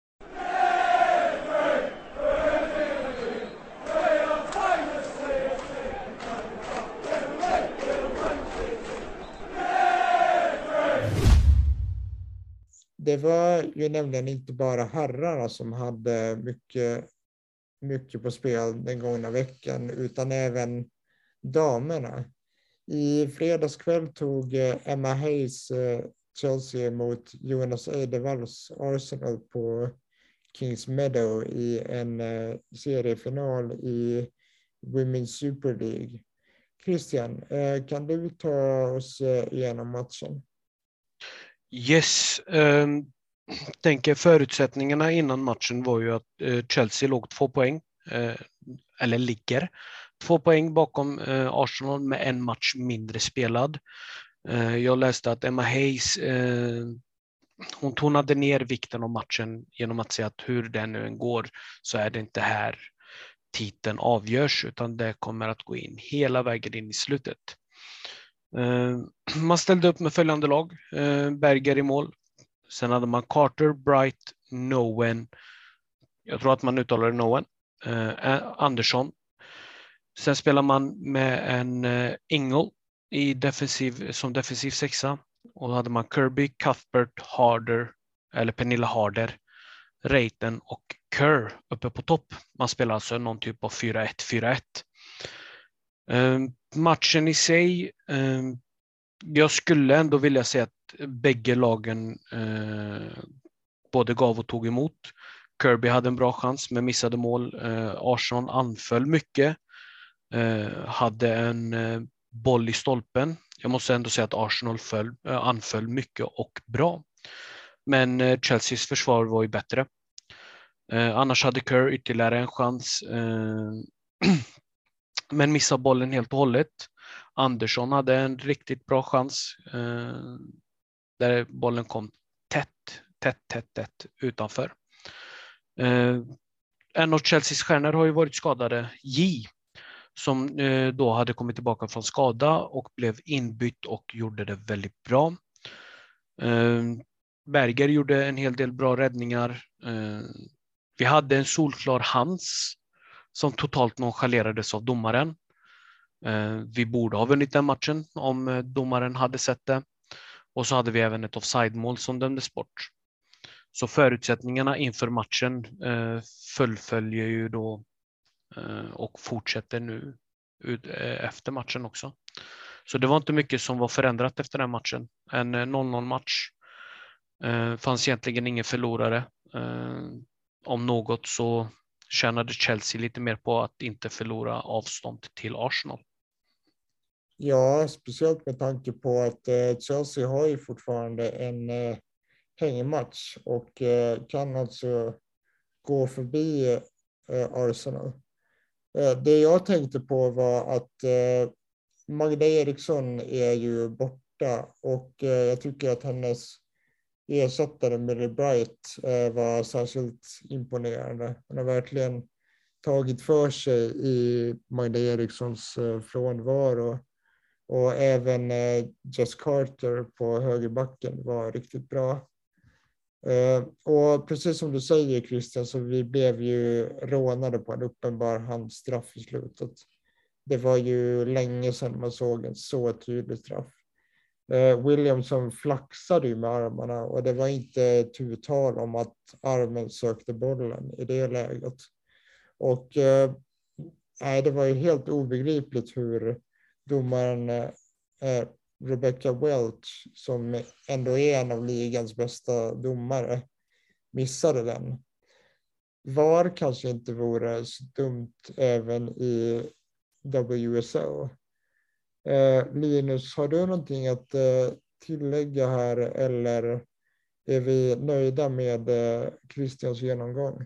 Det var ju nämligen inte bara herrarna som hade mycket på spel den gångna veckan, utan även damerna. I fredagskväll tog Emma Hayes Chelsea mot Jonas Eidevalls Arsenal på Kings Meadow i en seriefinal i Women's Super League. Christian, kan du ta oss igenom matchen? Yes, tänker förutsättningarna innan matchen var ju att Chelsea låg 2 poäng, eller ligger 2 poäng bakom Arsenal med en match mindre spelad. Jag läste att Emma Hayes, hon tonade ner vikten av matchen genom att säga att hur den nu än går så är det inte här titeln avgörs, utan det kommer att gå in hela vägen in i slutet. Man ställde upp med följande lag: Berger i mål. Sen hade man Carter, Bright, Nowen. Jag tror att man uttalar det Nowen. Andersson. Sen spelar man med en Ingle som defensiv sexa. Och då hade man Kirby, Cuthbert, Harder, eller Pernilla Harder, Reiten och Kerr uppe på topp. Man spelar alltså någon typ av 4-1-4-1. Matchen i sig, jag skulle ändå vilja säga att bägge lagen både gav och tog emot. Kirby hade en bra chans men missade mål. Arsenal anföll mycket. Hade en boll i stolpen. Jag måste ändå säga att Arsenal anföll mycket och bra. Men Chelseas försvar var ju bättre. Annars hade Kerr ytterligare en chans. Men missade bollen helt och hållet. Andersson hade en riktigt bra chans. Där bollen kom tätt utanför. En av Chelseas stjärnor har ju varit skadade, J, som då hade kommit tillbaka från skada och blev inbytt och gjorde det väldigt bra. Berger gjorde en hel del bra räddningar. Vi hade en solklar hands som totalt nonchalerades av domaren. Vi borde ha vunnit den matchen om domaren hade sett det. Och så hade vi även ett offside-mål som dömdes bort. Så förutsättningarna inför matchen fullföljer ju då och fortsätter nu efter matchen också. Så det var inte mycket som var förändrat efter den matchen. En 0-0-match. Fanns egentligen ingen förlorare. Om något så tjänade Chelsea lite mer på att inte förlora avstånd till Arsenal. Ja, speciellt med tanke på att Chelsea har ju fortfarande en hängmatch och kan alltså gå förbi Arsenal. Det jag tänkte på var att Magda Eriksson är ju borta och jag tycker att hennes ersättare Millie Bright var särskilt imponerande. Hon har verkligen tagit för sig i Magda Erikssons frånvaro. Och även Jess Carter på högerbacken var riktigt bra. Och precis som du säger Christian, så vi blev ju rånade på en uppenbar handstraff i slutet. Det var ju länge sedan man såg en så tydlig straff. Williamson flaxade ju med armarna och det var inte tal om att armen sökte bollen i det läget. Och det var ju helt obegripligt hur domaren Rebecca Welch, som ändå är en av ligans bästa domare, missade den. VAR kanske inte vore så dumt även i WSL. Linus, har du någonting att tillägga här eller är vi nöjda med Christians genomgång?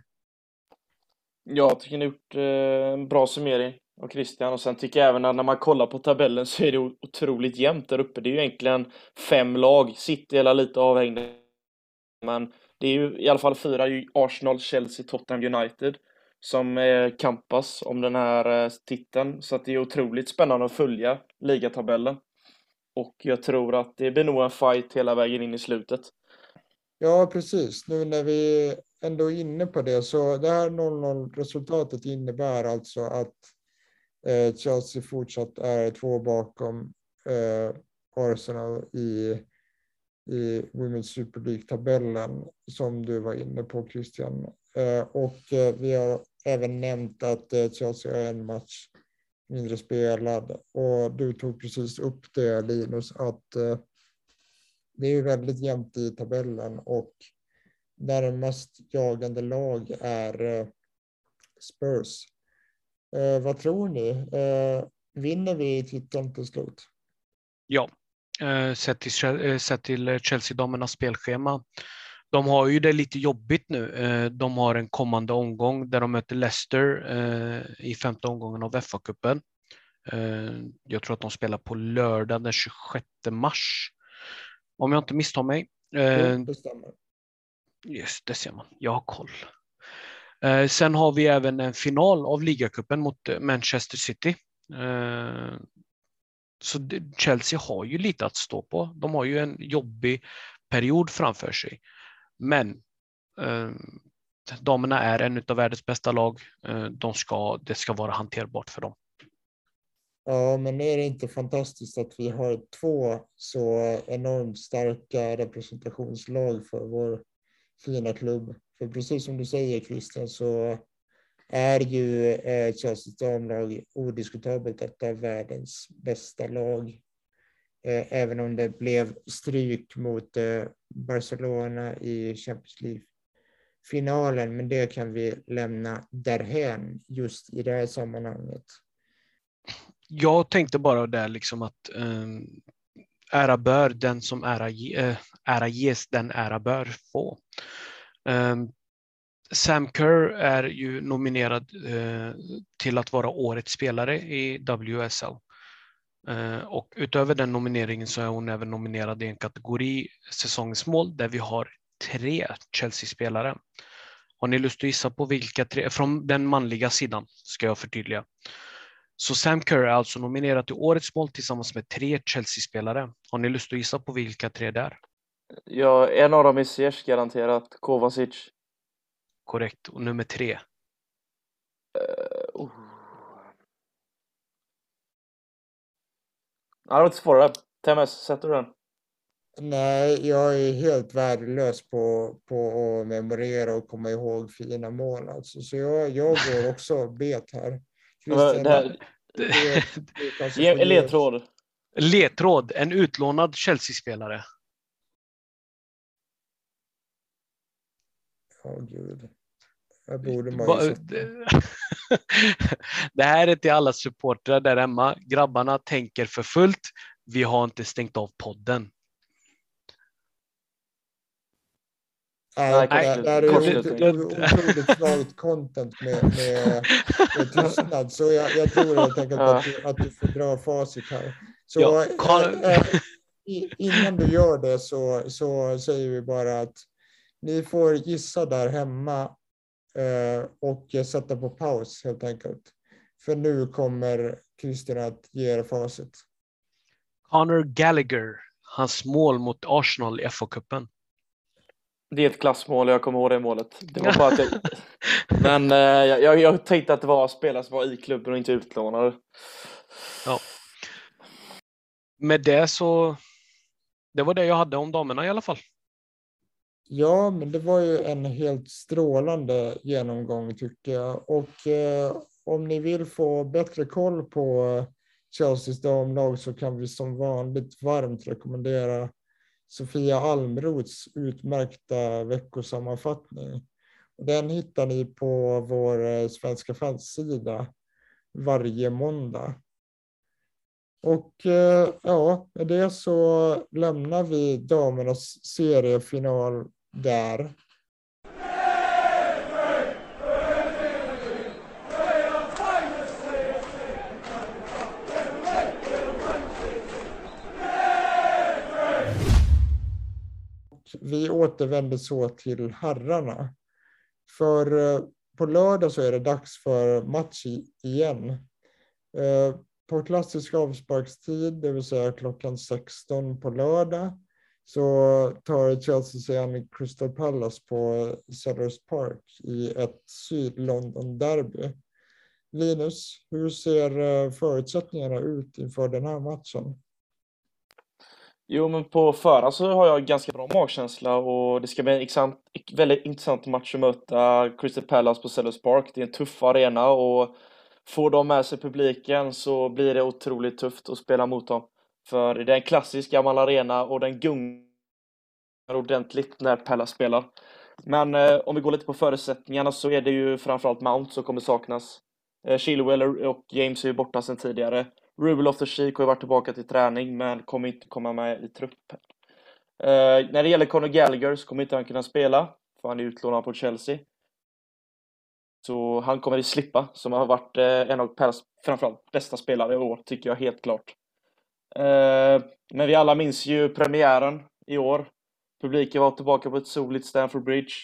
Jag tycker ni har gjort en bra summering av Christian, och sen tycker jag även att när man kollar på tabellen så är det otroligt jämnt där uppe. Det är ju egentligen 5 lag, City är lite avhängda, men det är ju i alla fall 4, Arsenal, Chelsea, Tottenham, United som kampas om den här titeln, så att det är otroligt spännande att följa ligatabellen. Och jag tror att det blir nog en fight hela vägen in i slutet. Ja, precis. Nu när vi ändå är inne på det, så det här 0-0-resultatet innebär alltså att Chelsea fortsatt är 2 bakom Arsenal i Women's Super League-tabellen som du var inne på Christian. Och vi har även nämnt att Chelsea har en match mindre spelad. Och du tog precis upp det Linus, att det är ju väldigt jämnt i tabellen och närmast jagande lag är Spurs. Vad tror ni? Vinner vi titeln till slut? Ja, sett till Chelsea-damernas spelschema. De har ju det lite jobbigt nu. De har en kommande omgång där de möter Leicester i 5:e omgången av FA-cupen. Jag tror att de spelar på lördag den 26 mars. Om jag inte misstar mig. Det stämmer. Just det ser man. Jag har koll. Sen har vi även en final av ligacupen mot Manchester City. Så Chelsea har ju lite att stå på. De har ju en jobbig period framför sig. Men damerna är en av världens bästa lag. Det ska vara hanterbart för dem. Ja, men är det inte fantastiskt att vi har 2 så enormt starka representationslag för vår fina klubb? För precis som du säger Christian, så är ju Chelseas damlag odiskutabelt ett av världens bästa lag. Även om det blev stryk mot Barcelona i Champions League-finalen. Men det kan vi lämna därhän just i det här sammanhanget. Jag tänkte bara där liksom att ära bör den som ära ges, den ära bör få. Sam Kerr är ju nominerad till att vara årets spelare i WSL. Och utöver den nomineringen så är hon även nominerad i en kategori säsongens mål där vi har 3 Chelsea-spelare. Har ni lust att gissa på vilka 3? Från den manliga sidan ska jag förtydliga. Så Sam Kerr är alltså nominerad till årets mål tillsammans med 3 Chelsea-spelare. Har ni lust att gissa på vilka 3 det är? Ja, en av dem är Ziyech garanterat, Kovacic. Korrekt, och nummer 3. Ja, det var inte svårare. TMS, sätter du den? Nej, jag är helt värdelös på att memorera och komma ihåg fina mål. Alltså. Så jag går också bet här. Christian, ge en ledtråd. Ledtråd, en utlånad Chelsea-spelare. Gud. Jag borde Det här är till alla supportrar där hemma. Grabbarna tänker för fullt. Vi har inte stängt av podden. Nej, det är otroligt svagt content med tystnad. Så jag tror helt enkelt att du får dra facit här. Så innan du gör det så säger vi bara att ni får gissa där hemma och sätta på paus helt enkelt. För nu kommer Christian att ge er facit. Conor Gallagher, hans mål mot Arsenal i FA-cupen. Det är ett klassmål, jag kommer ihåg det målet. Det var bara att men jag tänkte att det var spelare som var i klubben och inte utlånade. Ja. Med det så... Det var det jag hade om damerna i alla fall. Ja, men det var ju en helt strålande genomgång tycker jag. Och om ni vill få bättre koll på Chelseas damlag så kan vi som vanligt varmt rekommendera Sofia Almroths utmärkta veckosammanfattning. Den hittar ni på vår svenska fansida varje måndag. Och ja, med det så lämnar vi damernas seriefinal där. Vi återvänder så till herrarna. För på lördag så är det dags för match igen. På klassisk avsparkstid, det vill säga klockan 16 på lördag, så tar Chelsea sig an Crystal Palace på Selhurst Park i ett Syd-London-derby. Linus, hur ser förutsättningarna ut inför den här matchen? Jo, men på förhand så har jag ganska bra magkänsla och det ska bli en väldigt intressant match att möta Crystal Palace på Selhurst Park. Det är en tuff arena och får de med sig publiken så blir det otroligt tufft att spela mot dem. För det är en klassisk gammal arena och den gungar ordentligt när Palace spelar. Men om vi går lite på förutsättningarna så är det ju framförallt Mount som kommer saknas. Chilwell och James är ju borta sedan tidigare. Ruben Loftus-Cheek har ju varit tillbaka till träning men kommer inte komma med i truppen. När det gäller Conor Gallagher så kommer inte han kunna spela för han är utlånad på Chelsea. Så han kommer att slippa som har varit en av Palace framförallt bästa spelare i år tycker jag helt klart. Men vi alla minns ju premiären i år. Publiken var tillbaka på ett soligt Stamford Bridge.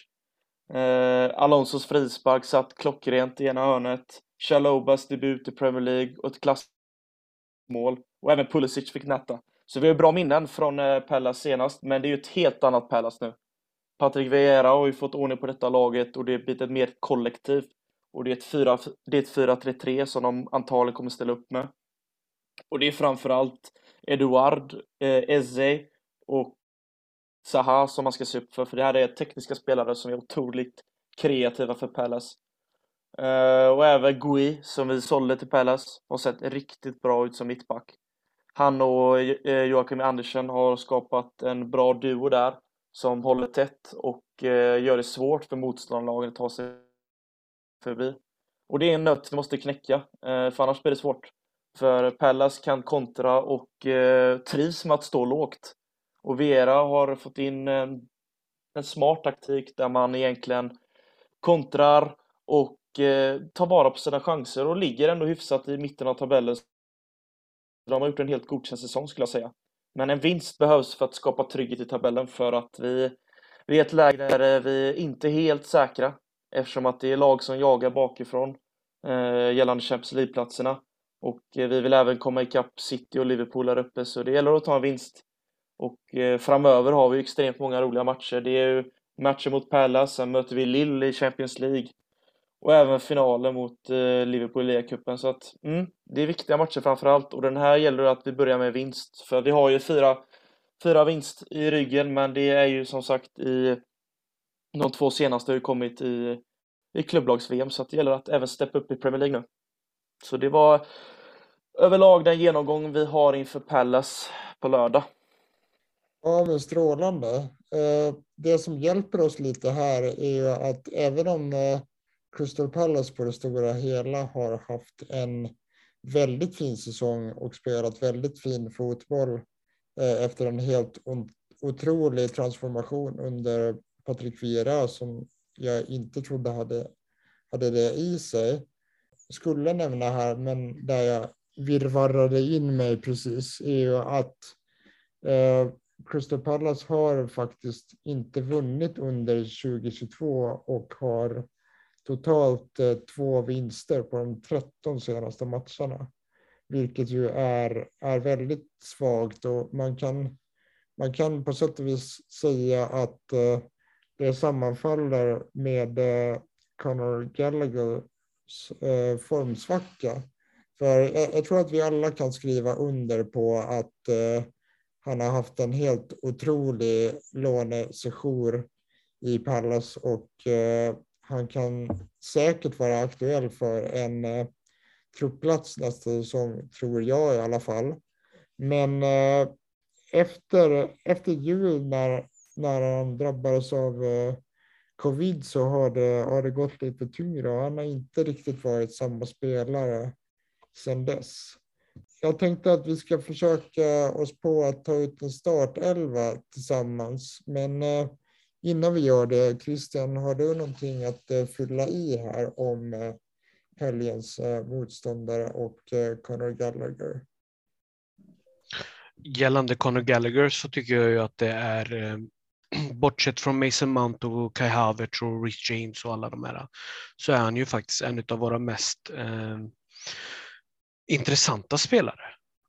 Alonsos frispark satt klockrent i ena hörnet. Chalobahs debut i Premier League och ett klassmål. Och även Pulisic fick nätta. Så vi har bra minnen från Palace senast. Men det är ju ett helt annat Palace nu. Patrick Vieira har ju fått ordning på detta laget och det är blivit ett mer kollektiv. Och det är ett 4-3-3 som de antagligen kommer ställa upp med. Och det är framförallt Eduard, Eze och Zaha som man ska se upp för det här är tekniska spelare som är otroligt kreativa för Palace. Och även Gui som vi sålde till Palace har sett riktigt bra ut som mittback. Han och Joakim Andersen har skapat en bra duo där som håller tätt och gör det svårt för motståndarlagen att ta sig förbi. Och det är en nöt vi måste knäcka, för annars blir det svårt. För Palace kan kontra och trivs med att stå lågt. Och Vieira har fått in en smart taktik där man egentligen kontrar och tar vara på sina chanser och ligger ändå hyfsat i mitten av tabellen. De har gjort en helt godkänd säsong skulle jag säga. Men en vinst behövs för att skapa trygghet i tabellen för att vi är i ett läge där vi inte är helt säkra eftersom att det är lag som jagar bakifrån gällande Champions League-platserna. Och vi vill även komma ikapp City och Liverpool där uppe så det gäller att ta en vinst. Och framöver har vi extremt många roliga matcher. Det är ju matcher mot Palace, sen möter vi Lille i Champions League. Och även finalen mot Liverpool i Liga-cupen. Så att det är viktiga matcher framförallt. Och den här gäller att vi börjar med vinst. För vi har ju fyra vinst i ryggen. Men det är ju som sagt i de 2 senaste har ju kommit i klubblags-VM. Så att det gäller att även steppa upp i Premier League nu. Så det var överlag den genomgång vi har inför Palace på lördag. Ja, men strålande. Det som hjälper oss lite här är ju att även om Crystal Palace på det stora hela har haft en väldigt fin säsong och spelat väldigt fin fotboll efter en helt otrolig transformation under Patrick Vieira som jag inte trodde hade det i sig. Skulle nämna här, men där jag virrvarrade in mig precis, är ju att Crystal Palace har faktiskt inte vunnit under 2022 och har totalt 2 vinster på de 13 senaste matcherna. Vilket ju är väldigt svagt, och man kan på sätt och vis säga att det sammanfaller med Conor Gallaghers formsvacka. För jag tror att vi alla kan skriva under på att han har haft en helt otrolig lånesejour i Pallas, och han kan säkert vara aktuell för en truppplats nästa säsong, tror jag i alla fall. Men efter jul när han drabbades av covid så har det gått lite tyngre, och han har inte riktigt varit samma spelare sedan dess. Jag tänkte att vi ska försöka oss på att ta ut en startelva tillsammans, men innan vi gör det, Christian, har du någonting att fylla i här om helgens motståndare och Conor Gallagher? Gällande Conor Gallagher så tycker jag ju att det är bortsett från Mason Mount och Kai Havertz och Reece James och alla de här, så är han ju faktiskt en av våra mest intressanta spelare.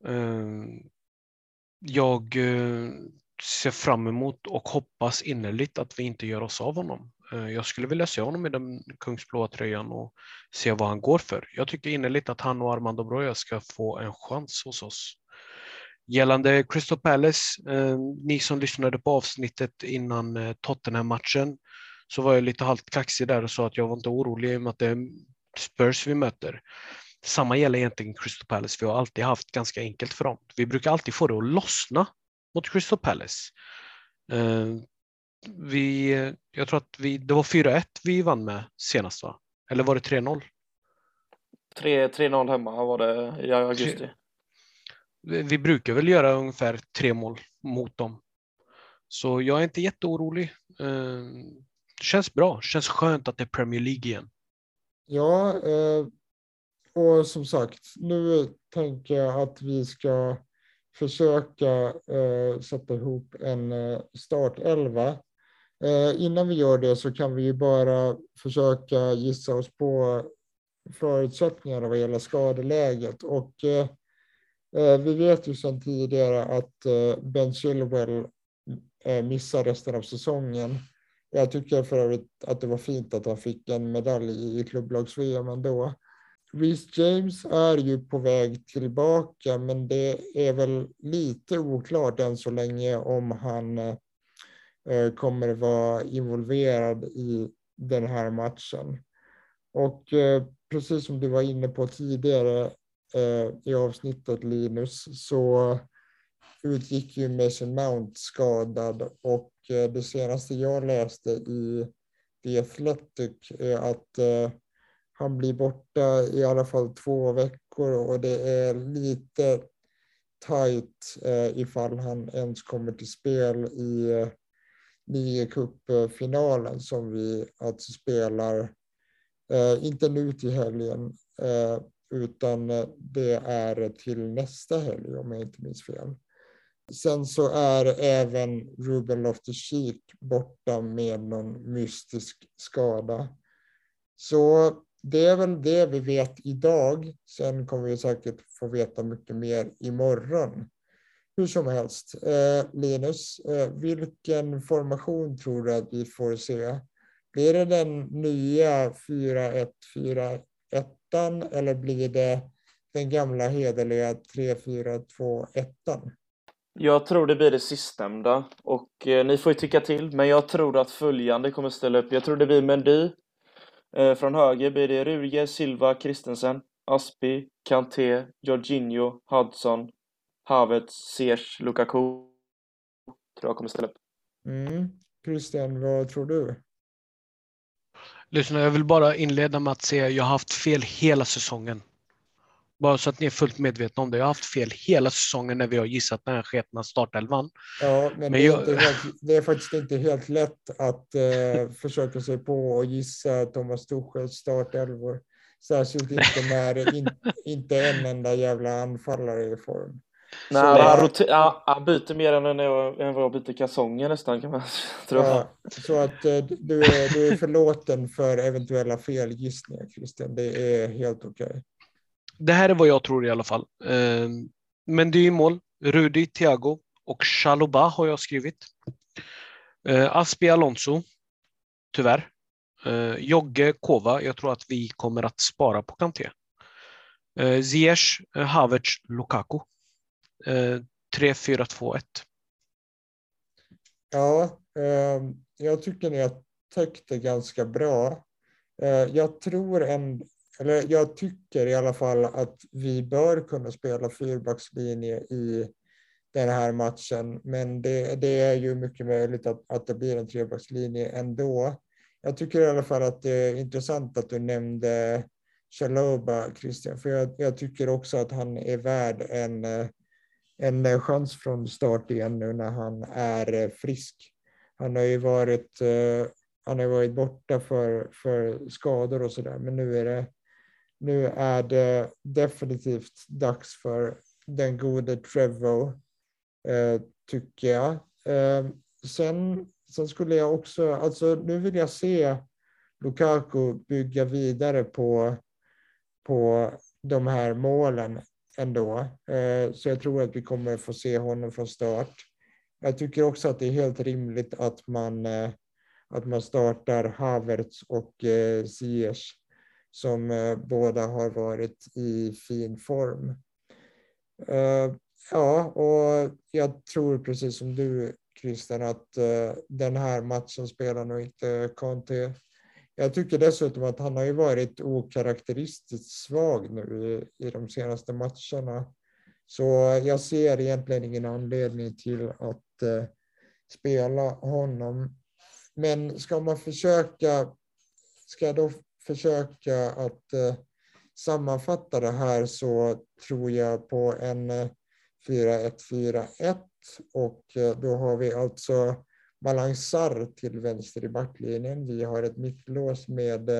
Jag ser fram emot och hoppas innerligt att vi inte gör oss av honom. Jag skulle vilja se honom i den kungsblåa tröjan och se vad han går för. Jag tycker innerligt att han och Armando Broja ska få en chans hos oss. Gällande Crystal Palace, ni som lyssnade på avsnittet innan Tottenham-matchen, så var jag lite halvt kaxig där och sa att jag var inte orolig om att det är Spurs vi möter. Samma gäller egentligen Crystal Palace. Vi har alltid haft ganska enkelt för dem. Vi brukar alltid få det att lossna mot Crystal Palace. Jag tror att det var 4-1 vi vann med senast, va? Eller var det 3-0? 3-0 hemma var det i augusti. Vi brukar väl göra ungefär 3 mål mot dem. Så jag är inte jätteorolig. Känns bra. Känns skönt att det är Premier League igen. Ja, och som sagt, nu tänker jag att vi ska försöka sätta ihop en startelva. Innan vi gör det så kan vi ju bara försöka gissa oss på förutsättningarna vad gäller skadeläget. Och vi vet ju sedan tidigare att Ben Chilwell missar resten av säsongen. Jag tycker för övrigt att det var fint att han fick en medalj i klubblags-VM ändå. Reece James är ju på väg tillbaka, men det är väl lite oklart än så länge om han kommer vara involverad i den här matchen. Och precis som du var inne på tidigare i avsnittet, Linus, så utgick ju Mason Mount skadad, och det senaste jag läste i The Athletic är att han blir borta i alla fall 2 veckor, och det är lite tajt ifall han ens kommer till spel i ligacupfinalen som vi alltså spelar, inte nu till helgen, utan det är till nästa helg om jag inte minns fel. Sen så är även Ruben Loftus-Cheek borta med någon mystisk skada. Så det är väl det vi vet idag. Sen kommer vi säkert få veta mycket mer imorgon. Hur som helst, Linus, vilken formation tror du att vi får se? Blir det den nya 4-1-4-1 eller blir det den gamla hederliga 3-4-2-1? Jag tror det blir det sistnämnda, och ni får ju tycka till, men jag tror att följande kommer ställa upp. Jag tror det blir Mendy. Från höger blir det Rudiger, Silva, Christensen, Aspi, Kanté, Jorginho, Hudson, Havertz, Ziyech, Lukaku. Tror jag kommer ställa upp. Christian, vad tror du? Lyssna, jag vill bara inleda med att säga att jag har haft fel hela säsongen. Bara så att ni är fullt medvetna om det. Jag har haft fel hela säsongen när vi har gissat den här sketna startelvan. Ja, men det är faktiskt inte helt lätt att försöka sig på och gissa Thomas Tuchels startelvor. Särskilt inte när inte en enda jävla anfallare är i form. Nej, Så, han byter mer än vad jag byter kalsonger nästan kan man tror jag. ja, så att du är förlåten för eventuella felgissningar, Christian. Det är helt okej. Det här är vad jag tror i alla fall. Men det är i mål. Rudi, Thiago och Chalobah har jag skrivit. Aspi, Alonso. Tyvärr. Jogge, Kova. Jag tror att vi kommer att spara på Kanté. Ziyech, Havertz, Lukaku. 3-4-2-1. Ja, jag tycker ni har täckt det ganska bra. Jag tycker i alla fall att vi bör kunna spela fyrbackslinje i den här matchen. Men det är ju mycket möjligt att det blir en trebackslinje ändå. Jag tycker i alla fall att det är intressant att du nämnde Chalobah, Christian. För jag tycker också att han är värd en chans från start igen nu när han är frisk. Han har ju varit borta för skador och sådär. Men nu är det definitivt dags för den gode Trevor, tycker jag. Sen skulle jag också, alltså nu vill jag se Lukaku bygga vidare på de här målen ändå. Så jag tror att vi kommer få se honom från start. Jag tycker också att det är helt rimligt att man startar Havertz och Ziyech som båda har varit i fin form. Ja, och jag tror precis som du, Christian, att den här matchen spelar nog inte Kanté. Jag tycker dessutom att han har ju varit okaraktäristiskt svag nu i de senaste matcherna. Så jag ser egentligen ingen anledning till att spela honom. Men ska jag då försöka att sammanfatta det här, så tror jag på en 4-1-4-1 och då har vi alltså Malang Sarr till vänster i backlinjen. Vi har ett mittlås med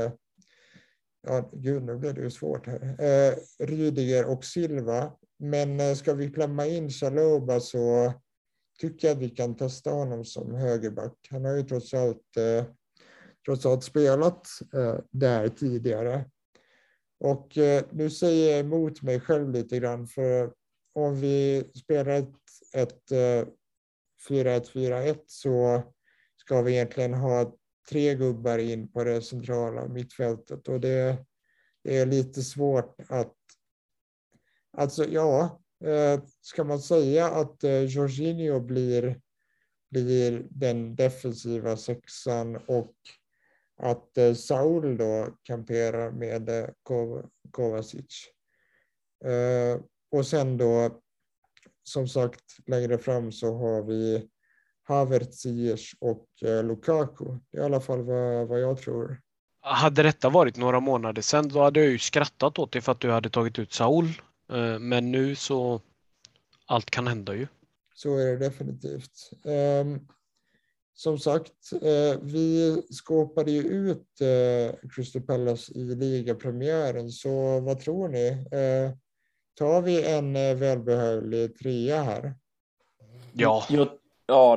nu blir det ju svårt här. Rydiger och Silva. Men ska vi klämma in Chalobah så tycker jag att vi kan testa honom som högerback. Han har ju trots allt spelat där tidigare. Och nu säger jag emot mig själv lite grann, för om vi spelar ett 4-1-4-1 så ska vi egentligen ha 3 gubbar in på det centrala mittfältet, och det är lite svårt att, alltså ja, ska man säga att Jorginho blir den defensiva sexan och att Saul då kamperar med Kovacic. Och sen då, som sagt, längre fram så har vi Havertz, Ziyech och Lukaku. Det är i alla fall vad jag tror. Hade detta varit några månader sedan, då hade jag ju skrattat åt det för att du hade tagit ut Saul. Men nu så allt kan hända ju. Så är det definitivt. Som sagt, vi skåpade ju ut Crystal Palace i ligapremiären, så vad tror ni? Tar vi en välbehövlig 3 här? Ja. Ja,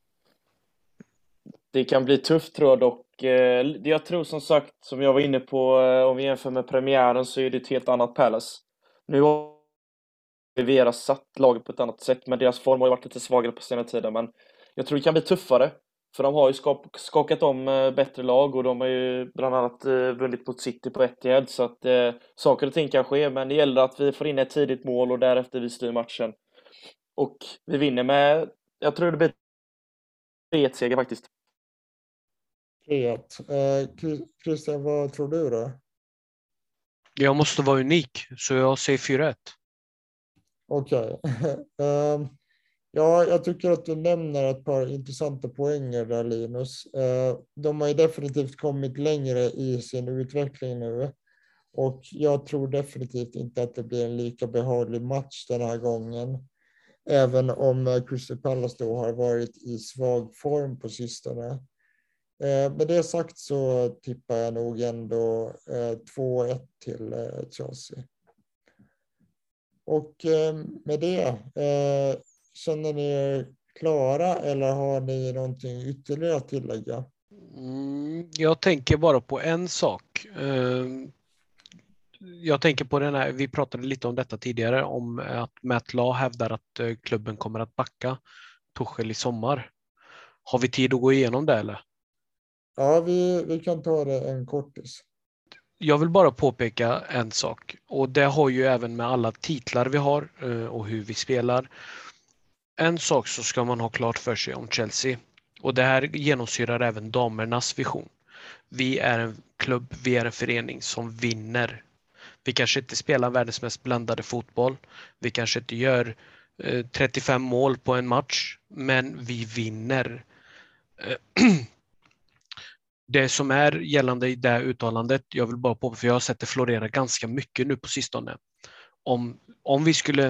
det kan bli tufft tror jag dock. Jag tror som sagt, som jag var inne på, om vi jämför med premiären så är det ett helt annat Palace. Nu har Vera satt laget på ett annat sätt, men deras form har ju varit lite svagare på senare tiden. Men jag tror det kan bli tuffare, för de har ju skakat om bättre lag och de har ju bland annat vunnit mot City på Etihad, så att saker och ting kan ske, men det gäller att vi får in ett tidigt mål och därefter vi styr matchen. Och vi vinner med, jag tror det blir 3-1-seger faktiskt. 3-1. Christian, vad tror du då? Jag måste vara unik, så jag säger 4-1. Okej. Ja, jag tycker att du nämner ett par intressanta poänger där, Linus. De har ju definitivt kommit längre i sin utveckling nu. Och jag tror definitivt inte att det blir en lika behaglig match den här gången. Även om Crystal Palace då har varit i svag form på sistone. Med det sagt så tippar jag nog ändå 2-1 till Chelsea. Och med det, känner ni er klara eller har ni någonting ytterligare att tillägga? Jag tänker bara på en sak. Jag tänker på den här, vi pratade lite om detta tidigare, om att Matt Law hävdar att klubben kommer att backa Tuchel i sommar. Har vi tid att gå igenom det eller? Ja, vi kan ta det en kortis. Jag vill bara påpeka en sak, och det har ju även med alla titlar vi har och hur vi spelar. En sak så ska man ha klart för sig om Chelsea, och det här genomsyrar även damernas vision. Vi är en klubb, vi är en förening som vinner. Vi kanske inte spelar världens mest blandade fotboll. Vi kanske inte gör 35 mål på en match, men vi vinner. Det som är gällande i det här uttalandet, jag vill bara påpeka, för jag har sett det florera ganska mycket nu på sistone. Om vi skulle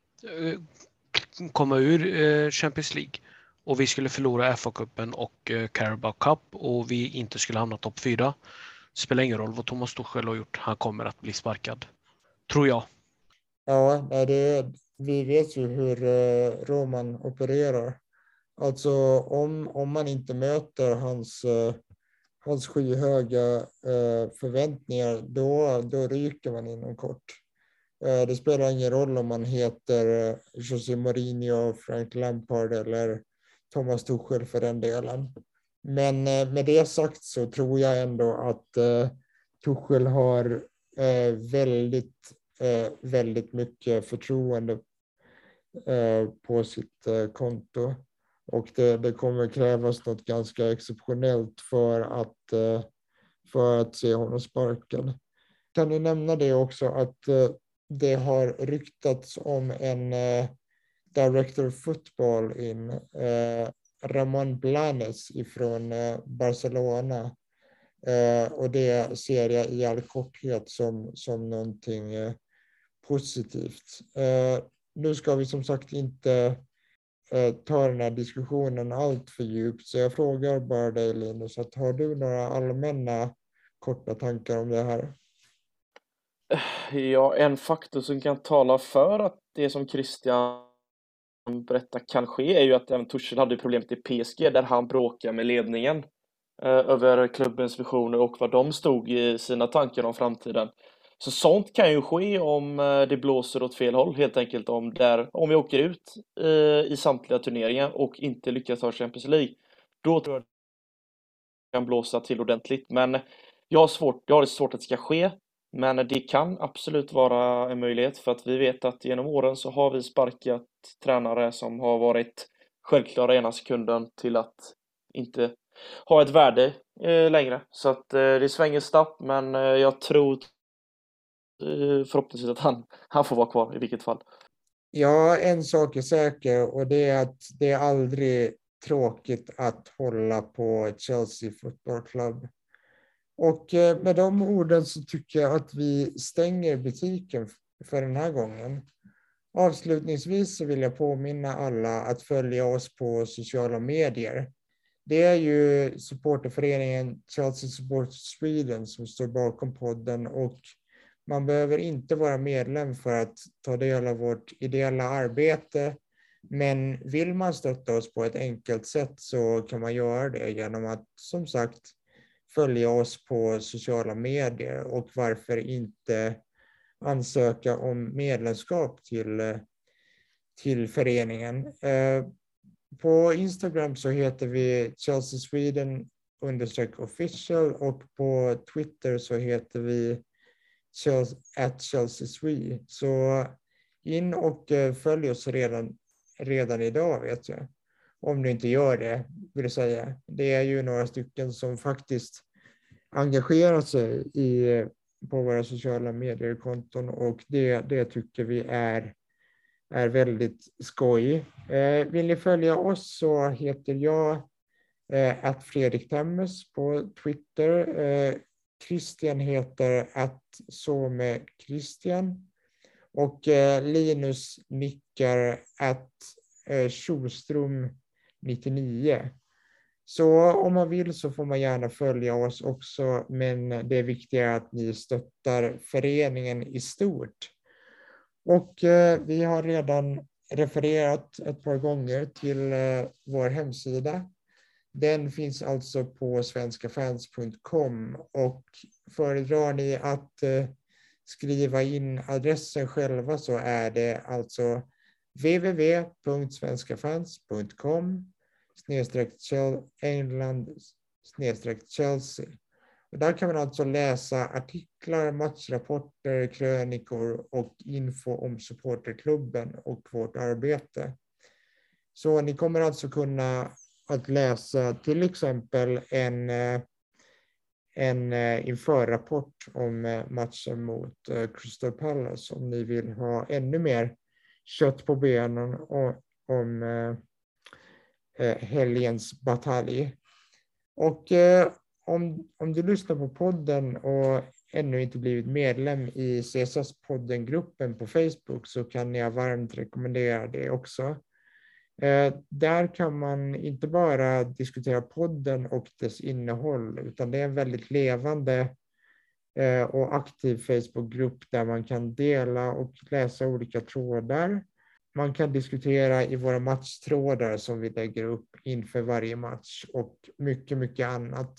komma ur Champions League och vi skulle förlora FA-cupen och Carabao Cup och vi inte skulle hamna topp 4, spelar ingen roll vad Thomas Tuchel har gjort, han kommer att bli sparkad. Tror jag. Ja, vi vet ju hur Roman opererar. Alltså om man inte möter hans skyhöga förväntningar, då ryker man inom kort. Det spelar ingen roll om man heter José Mourinho, Frank Lampard eller Thomas Tuchel för den delen. Men med det sagt så tror jag ändå att Tuchel har väldigt mycket förtroende på sitt konto. Och det kommer krävas något ganska exceptionellt för att se honom sparkad. Kan du nämna det också att det har ryktats om en director of football Ramon Blanes ifrån Barcelona. Och det ser jag i all korthet som någonting positivt. Nu ska vi som sagt inte ta den här diskussionen allt för djupt, så jag frågar bara dig Linus, att har du några allmänna korta tankar om det här? Ja, en faktor som kan tala för att det som Christian berättar kan ske är ju att även Tuchel hade problemet i PSG där han bråkade med ledningen över klubbens visioner och vad de stod i sina tankar om framtiden. Så sånt kan ju ske om det blåser åt fel håll helt enkelt, om vi åker ut i samtliga turneringar och inte lyckas ta Champions League. Då tror jag det kan blåsa till ordentligt, men jag har det svårt att det ska ske. Men det kan absolut vara en möjlighet, för att vi vet att genom åren så har vi sparkat tränare som har varit självklara ena sekunden till att inte ha ett värde längre. Så att det svänger snabbt, men jag tror förhoppningsvis att han får vara kvar i vilket fall. Ja, en sak är säker, och det är att det är aldrig tråkigt att hålla på Chelsea Football Club. Och med de orden så tycker jag att vi stänger butiken för den här gången. Avslutningsvis så vill jag påminna alla att följa oss på sociala medier. Det är ju supporterföreningen Chelsea Support Sweden som står bakom podden, och man behöver inte vara medlem för att ta del av vårt ideella arbete. Men vill man stötta oss på ett enkelt sätt så kan man göra det genom att, som sagt, följa oss på sociala medier, och varför inte ansöka om medlemskap till föreningen. På Instagram så heter vi Chelsea Sweden _official, och på Twitter så heter vi @ChelseaSwe. Så in och följ oss redan idag, vet jag. Om du inte gör det, vill jag säga. Det är ju några stycken som faktiskt engagerar sig på våra sociala mediekonton, och det tycker vi är väldigt skoj. Vill ni följa oss så heter jag @Fredrik Temmes på Twitter. Christian heter @SomeChristian, och Linus nickar @Schostrom99. Så om man vill så får man gärna följa oss också, men det är viktigare att ni stöttar föreningen i stort. Och vi har redan refererat ett par gånger till vår hemsida. Den finns alltså på svenskafans.com, och föredrar ni att skriva in adressen själva så är det alltså www.svenskafans.com/England/Chelsea. Och där kan man alltså läsa artiklar, matchrapporter, krönikor och info om supporterklubben och vårt arbete. Så ni kommer alltså kunna att läsa till exempel en införrapport om matchen mot Crystal Palace om ni vill ha ännu mer kött på benen om helgens batalj. Och om du lyssnar på podden och ännu inte blivit medlem i CSS-podden-gruppen på Facebook så kan jag varmt rekommendera det också. Där kan man inte bara diskutera podden och dess innehåll, utan det är en väldigt levande och aktiv Facebookgrupp där man kan dela och läsa olika trådar. Man kan diskutera i våra matchtrådar som vi lägger upp inför varje match och mycket, mycket annat.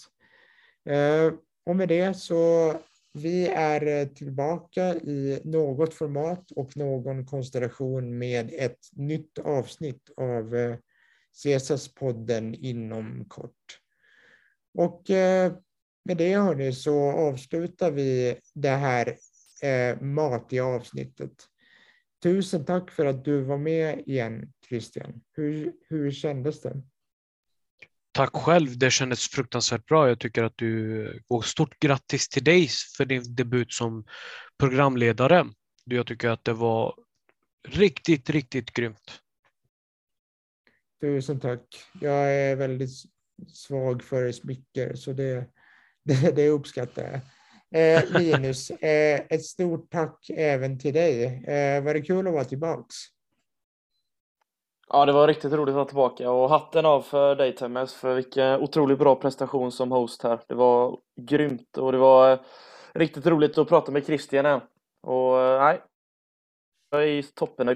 Och med det så vi är tillbaka i något format och någon konstellation med ett nytt avsnitt av CSS-podden inom kort. Och med det hörni så avslutar vi det här matiga avsnittet. Tusen tack för att du var med igen, Christian. Hur kändes det? Tack själv, det kändes fruktansvärt bra. Jag tycker att och stort grattis till dig för din debut som programledare. Jag tycker att det var riktigt, riktigt grymt. Tusen tack. Jag är väldigt svag för smicker så det uppskattar jag. Linus, ett stort tack även till dig. Var det kul att vara tillbaks? Ja, det var riktigt roligt att vara tillbaka och hatten av för dig, Temmes, för vilken otroligt bra prestation som host här. Det var grymt och det var riktigt roligt att prata med Christian än. Och nej, jag är toppen.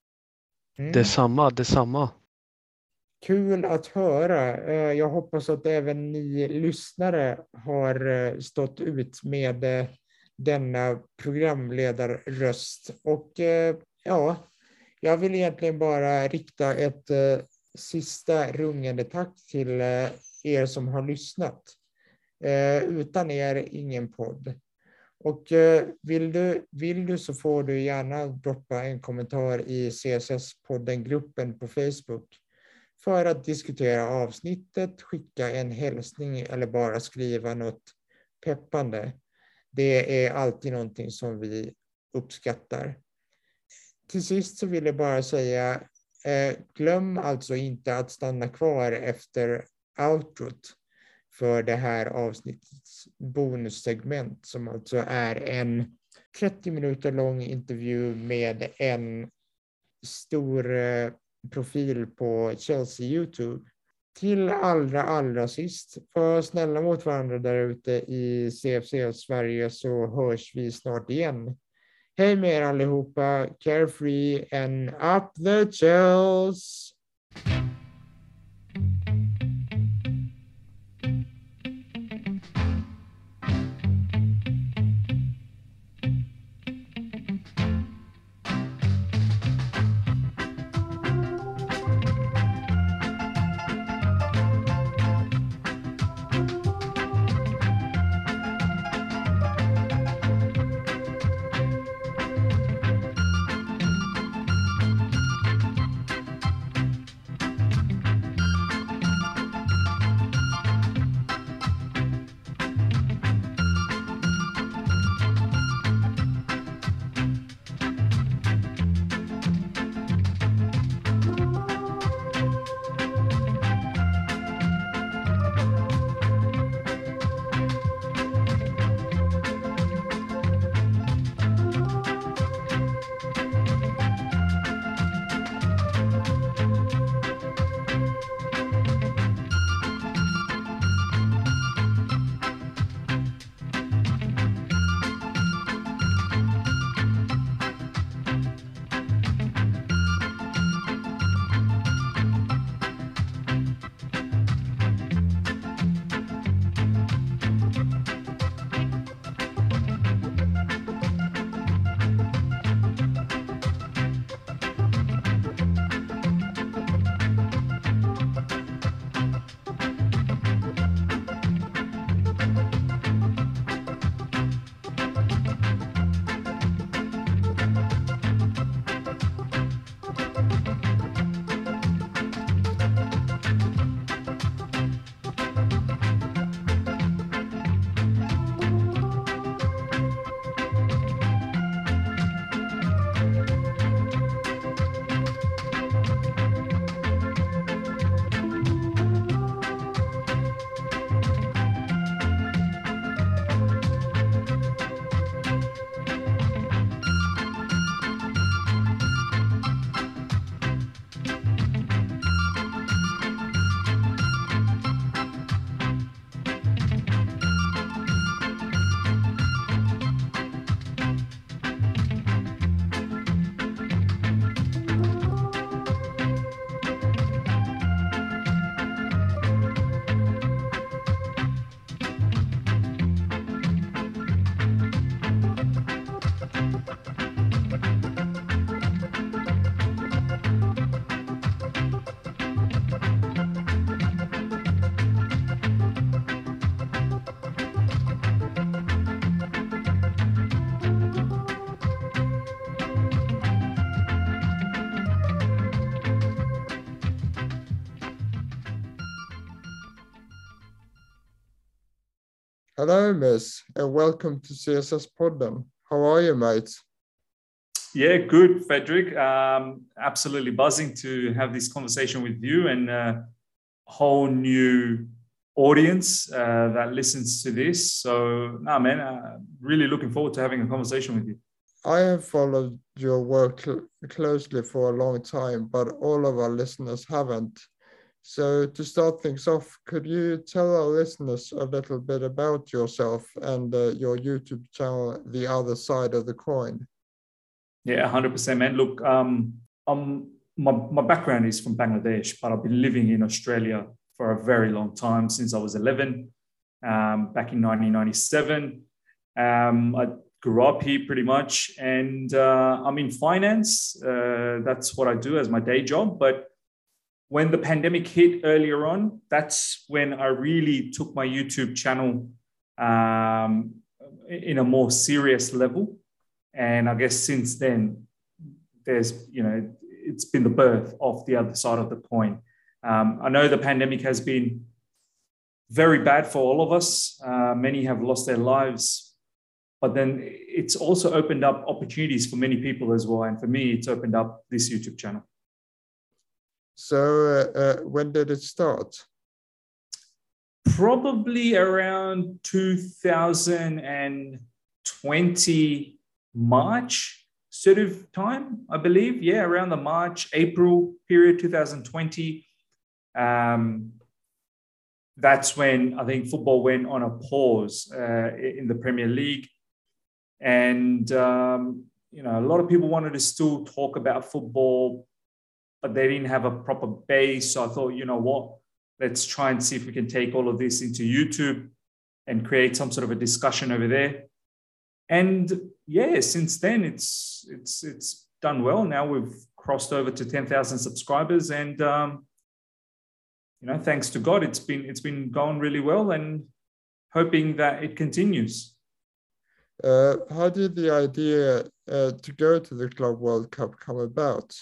Detsamma. Kul att höra. Jag hoppas att även ni lyssnare har stått ut med denna programledarröst. Och ja, jag vill egentligen bara rikta ett sista rungande tack till er som har lyssnat. Utan er ingen podd. Och vill du så får du gärna droppa en kommentar i CSS-podden-gruppen på Facebook för att diskutera avsnittet, skicka en hälsning eller bara skriva något peppande. Det är alltid någonting som vi uppskattar. Till sist så vill jag bara säga, glöm alltså inte att stanna kvar efter outrot för det här avsnittets bonussegment som alltså är en 30 minuter lång intervju med en stor profil på Chelsea YouTube. Till allra sist, var snälla mot varandra där ute i CFC Sverige så hörs vi snart igen. Hej med er allihopa, carefree and up the Chels! Hello, Miss, and welcome to CSS Podden. How are you, mate? Yeah, good, Frederick. Absolutely buzzing to have this conversation with you and a whole new audience that listens to this. So, no, man, really looking forward to having a conversation with you. I have followed your work closely for a long time, but all of our listeners haven't. So to start things off, could you tell our listeners a little bit about yourself and your YouTube channel, The Other Side of the Coin? Yeah, 100%, man. Look, my background is from Bangladesh, but I've been living in Australia for a very long time, since I was 11, back in 1997. I grew up here pretty much, and I'm in finance. That's what I do as my day job. But when the pandemic hit earlier on, that's when I really took my YouTube channel in a more serious level. And I guess since then, it's been the birth of The Other Side of the Coin. I know the pandemic has been very bad for all of us. Many have lost their lives, but then it's also opened up opportunities for many people as well. And for me, it's opened up this YouTube channel. So when did it start? Probably around 2020 March sort of time, I believe. Yeah, around the March, April period, 2020. That's when I think football went on a pause in the Premier League. And, a lot of people wanted to still talk about football, but they didn't have a proper base. So I thought, you know what, let's try and see if we can take all of this into YouTube and create some sort of a discussion over there. And yeah, since then it's done well. Now we've crossed over to 10,000 subscribers, and thanks to God, it's been going really well, and hoping that it continues. How did the idea to go to the Club World Cup come about?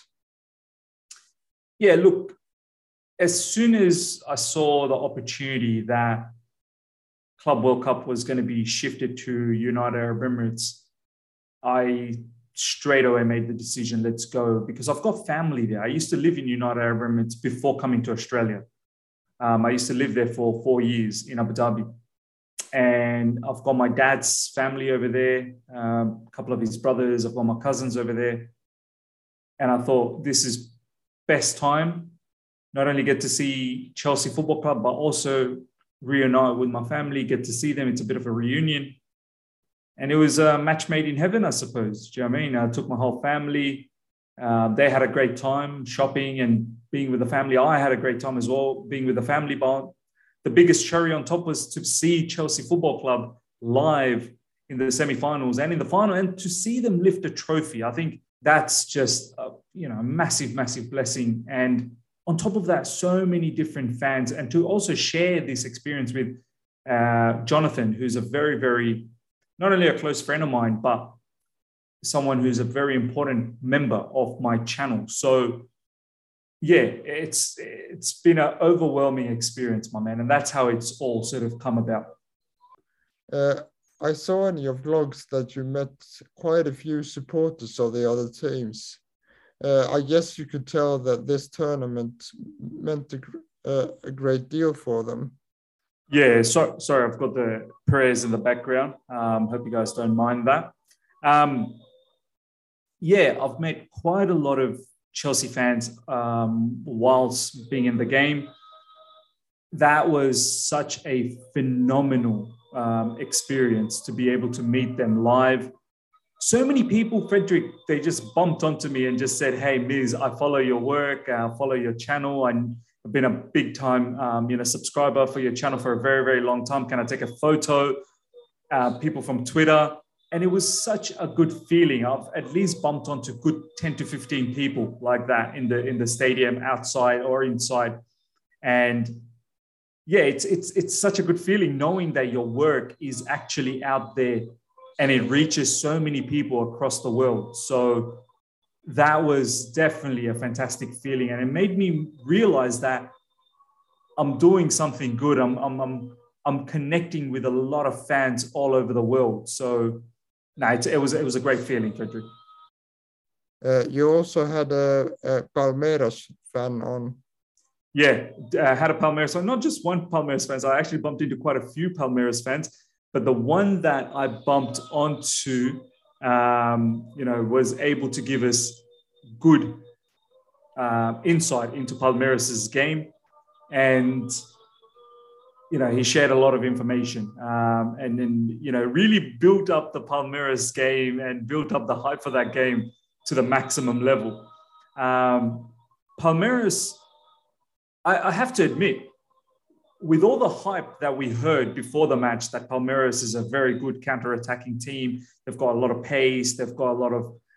Yeah, look, as soon as I saw the opportunity that Club World Cup was going to be shifted to United Arab Emirates, I straight away made the decision, let's go, because I've got family there. I used to live in United Arab Emirates before coming to Australia. I used to live there for 4 years in Abu Dhabi. And I've got my dad's family over there, a couple of his brothers, I've got my cousins over there. And I thought, this is best time, not only get to see Chelsea Football Club, but also reunite with my family, get to see them. It's a bit of a reunion. And it was a match made in heaven, I suppose. Do you know what I mean? I took my whole family. They had a great time shopping and being with the family. I had a great time as well, being with the family. But the biggest cherry on top was to see Chelsea Football Club live in the semi-finals and in the final, and to see them lift a trophy. I think that's just a massive, massive blessing. And on top of that, so many different fans, and to also share this experience with Jonathan, who's a very, very, not only a close friend of mine, but someone who's a very important member of my channel. So yeah, it's been an overwhelming experience, my man. And that's how it's all sort of come about. I saw in your vlogs that you met quite a few supporters of the other teams. I guess you could tell that this tournament meant a great deal for them. Yeah, sorry, I've got the prayers in the background. Hope you guys don't mind that. Yeah, I've met quite a lot of Chelsea fans whilst being in the game. That was such a phenomenal experience to be able to meet them live. So many people, Frederick, they just bumped onto me and just said, "Hey, Miz, I follow your work, I follow your channel, and I've been a big time, subscriber for your channel for a very, very long time. Can I take a photo?" People from Twitter. And it was such a good feeling. I've at least bumped onto good 10 to 15 people like that in the stadium, outside or inside. And yeah, it's such a good feeling knowing that your work is actually out there and it reaches so many people across the world. So that was definitely a fantastic feeling. And it made me realize that I'm doing something good. I'm I'm connecting with a lot of fans all over the world. So no, it was a great feeling, Frederick. You also had a Palmeiras fan on. Yeah, I had a Palmeiras fan, not just one Palmeiras fan. I actually bumped into quite a few Palmeiras fans, but the one that I bumped onto, was able to give us good insight into Palmeiras' game. And, he shared a lot of information and then, really built up the Palmeiras game and built up the hype for that game to the maximum level. Palmeiras, I have to admit, with all the hype that we heard before the match, that Palmeiras is a very good counter-attacking team. They've got a lot of pace. They've got a lot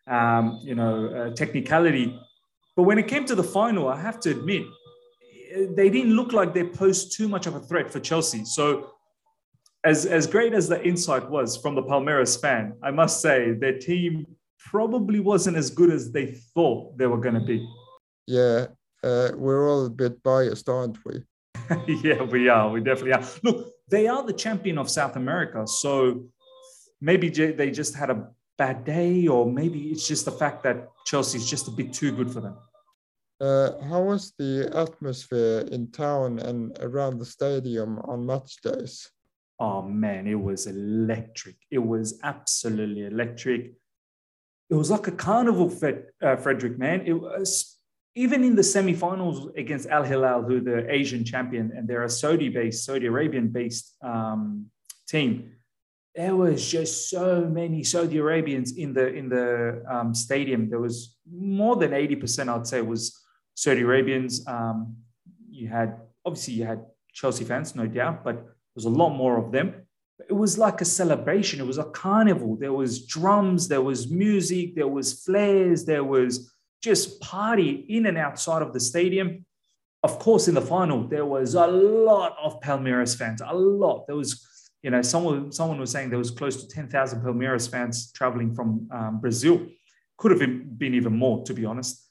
of, technicality. But when it came to the final, I have to admit, they didn't look like they posed too much of a threat for Chelsea. So as great as the insight was from the Palmeiras fan, I must say their team probably wasn't as good as they thought they were going to be. Yeah, we're all a bit biased, aren't we? Yeah, we are. We definitely are. Look, they are the champion of South America. So maybe they just had a bad day, or maybe it's just the fact that Chelsea is just a bit too good for them. How was the atmosphere in town and around the stadium on match days? Oh, man, it was electric. It was absolutely electric. It was like a carnival, Frederick, man. It was, even in the semi-finals against Al Hilal, who the Asian champion, and they're a Saudi Arabian-based team. There was just so many Saudi Arabians in the stadium. There was more than 80%, I'd say, was Saudi Arabians. You had Chelsea fans, no doubt, but there was a lot more of them. It was like a celebration. It was a carnival. There was drums, there was music, there was flares, there was just party in and outside of the stadium. Of course, in the final, there was a lot of Palmeiras fans, a lot. There was, someone was saying there was close to 10,000 Palmeiras fans traveling from Brazil. Could have been even more, to be honest.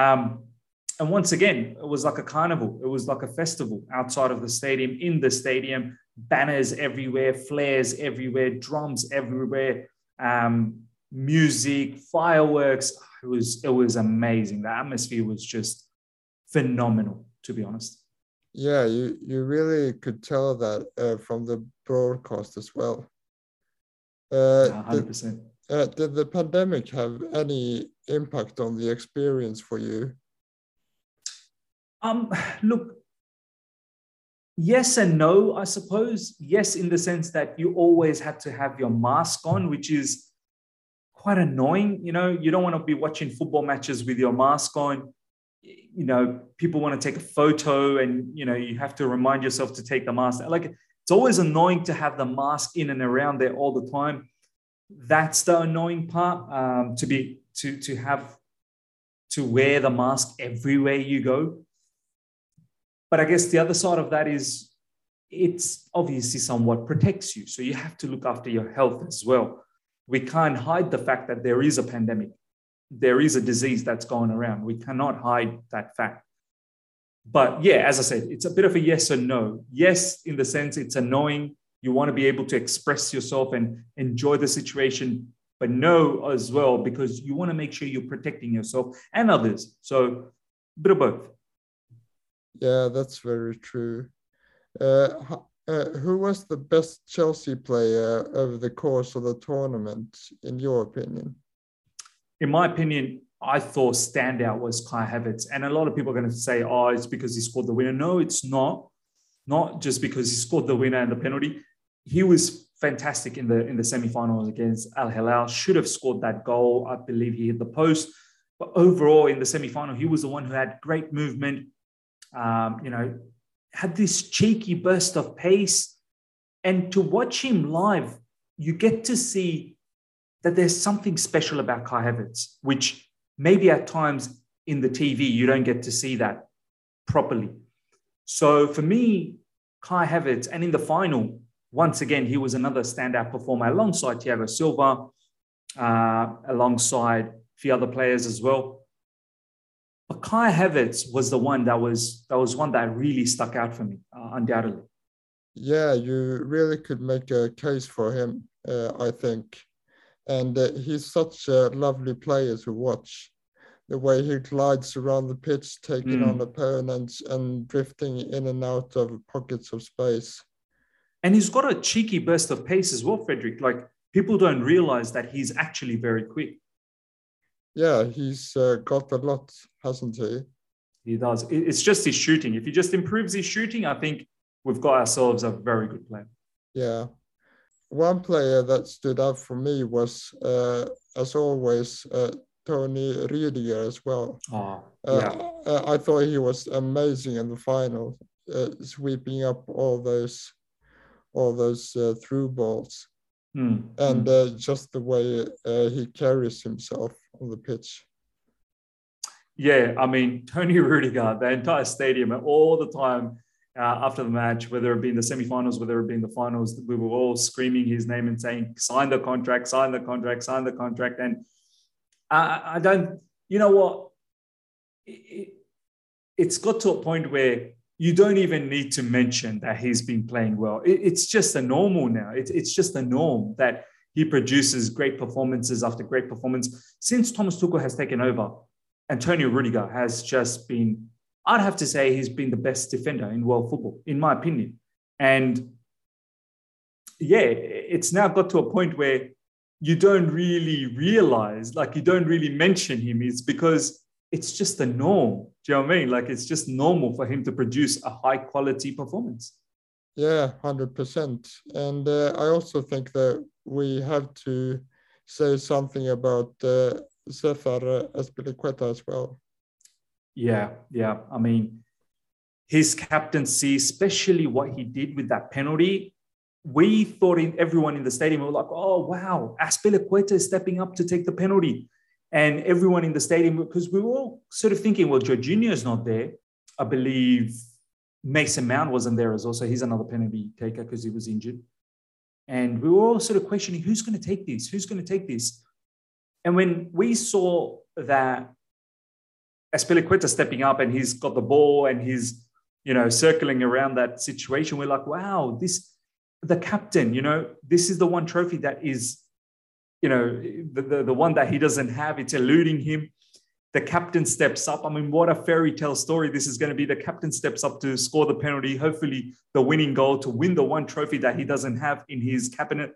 And once again, it was like a carnival. It was like a festival outside of the stadium, in the stadium, banners everywhere, flares everywhere, drums everywhere, music, fireworks. It was amazing. The atmosphere was just phenomenal, to be honest. Yeah, you really could tell that from the broadcast as well. 100%. Did the pandemic have any impact on the experience for you? Look, yes and no, I suppose. Yes, in the sense that you always had to have your mask on, which is quite annoying. You don't want to be watching football matches with your mask on. People want to take a photo and, you have to remind yourself to take the mask. Like, it's always annoying to have the mask in and around there all the time. That's the annoying part, to have to wear the mask everywhere you go. But I guess the other side of that is it's obviously somewhat protects you. So you have to look after your health as well. We can't hide the fact that there is a pandemic. There is a disease that's going around. We cannot hide that fact. But yeah, as I said, it's a bit of a yes or no. Yes, in the sense it's annoying. You want to be able to express yourself and enjoy the situation, but no as well, because you want to make sure you're protecting yourself and others. So a bit of both. Yeah, that's very true. Who was the best Chelsea player over the course of the tournament, in your opinion? In my opinion, I thought standout was Kai Havertz. And a lot of people are going to say, oh, it's because he scored the winner. No, it's not. Not just because he scored the winner and the penalty. He was fantastic in the semi-finals against Al Hilal. Should have scored that goal. I believe he hit the post. But overall, in the semi-final, he was the one who had great movement. Had this cheeky burst of pace. And to watch him live, you get to see that there's something special about Kai Havertz, which maybe at times in the TV, you don't get to see that properly. So for me, Kai Havertz, and in the final, once again, he was another standout performer alongside Thiago Silva, alongside a few other players as well. But Kai Havertz was the one that was one that really stuck out for me, undoubtedly. Yeah, you really could make a case for him, I think. And he's such a lovely player to watch. The way he glides around the pitch, taking on opponents and drifting in and out of pockets of space. And he's got a cheeky burst of pace as well, Frederick. Like, people don't realize that he's actually very quick. Yeah, he's got a lot, hasn't he? He does. It's just his shooting. If he just improves his shooting, I think we've got ourselves a very good player. Yeah. One player that stood out for me was, as always, Tony Rüdiger as well. Oh, yeah. I thought he was amazing in the final, sweeping up all those through balls, and just the way he carries himself on the pitch. Yeah, I mean, Tony Rüdiger, the entire stadium, all the time after the match, whether it be in the semi-finals, whether it be in the finals, we were all screaming his name and saying, sign the contract, sign the contract, sign the contract. And I don't, you know what? It's got to a point where you don't even need to mention that he's been playing well. It's just a normal now. It's just a norm that he produces great performances after great performance. Since Thomas Tuchel has taken over, Antonio Rüdiger has just been, I'd have to say he's been the best defender in world football, in my opinion. And yeah, it's now got to a point where you don't really realize, like you don't really mention him. It's because it's just a norm. Do you know what I mean? Like it's just normal for him to produce a high quality performance. Yeah, 100%. And I also think that we have to say something about Cesar Azpilicueta as well. Yeah. I mean, his captaincy, especially what he did with that penalty, we thought everyone in the stadium were like, oh, wow, Azpilicueta is stepping up to take the penalty. And everyone in the stadium, because we were all sort of thinking, well, Jorginho's not there. I believe Mason Mount wasn't there as well. So he's another penalty taker because he was injured. And we were all sort of questioning, who's going to take this? Who's going to take this? And when we saw that Azpilicueta stepping up and he's got the ball and he's, circling around that situation, we're like, wow, the captain, this is the one trophy that is, the one that he doesn't have. It's eluding him. The captain steps up. I mean, what a fairy tale story this is going to be. The captain steps up to score the penalty, hopefully the winning goal to win the one trophy that he doesn't have in his cabinet.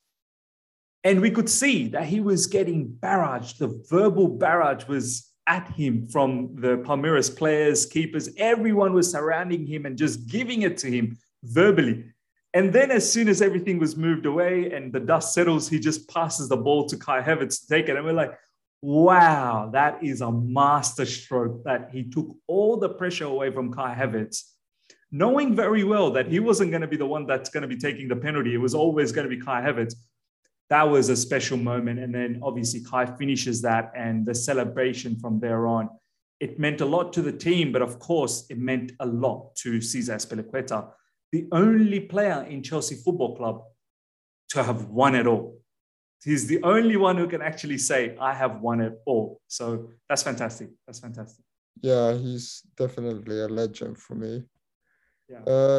And we could see that he was getting barraged. The verbal barrage was at him from the Palmeiras players, keepers. Everyone was surrounding him and just giving it to him verbally. And then as soon as everything was moved away and the dust settles, he just passes the ball to Kai Havertz to take it. And we're like, wow, that is a master stroke, that he took all the pressure away from Kai Havertz, knowing very well that he wasn't going to be the one that's going to be taking the penalty. It was always going to be Kai Havertz. That was a special moment. And then obviously Kai finishes that, and the celebration from there on. It meant a lot to the team, but of course it meant a lot to Cesar Azpilicueta, the only player in Chelsea Football Club to have won it all. He's the only one who can actually say, I have won it all. So that's fantastic. That's fantastic. Yeah, he's definitely a legend for me. Yeah.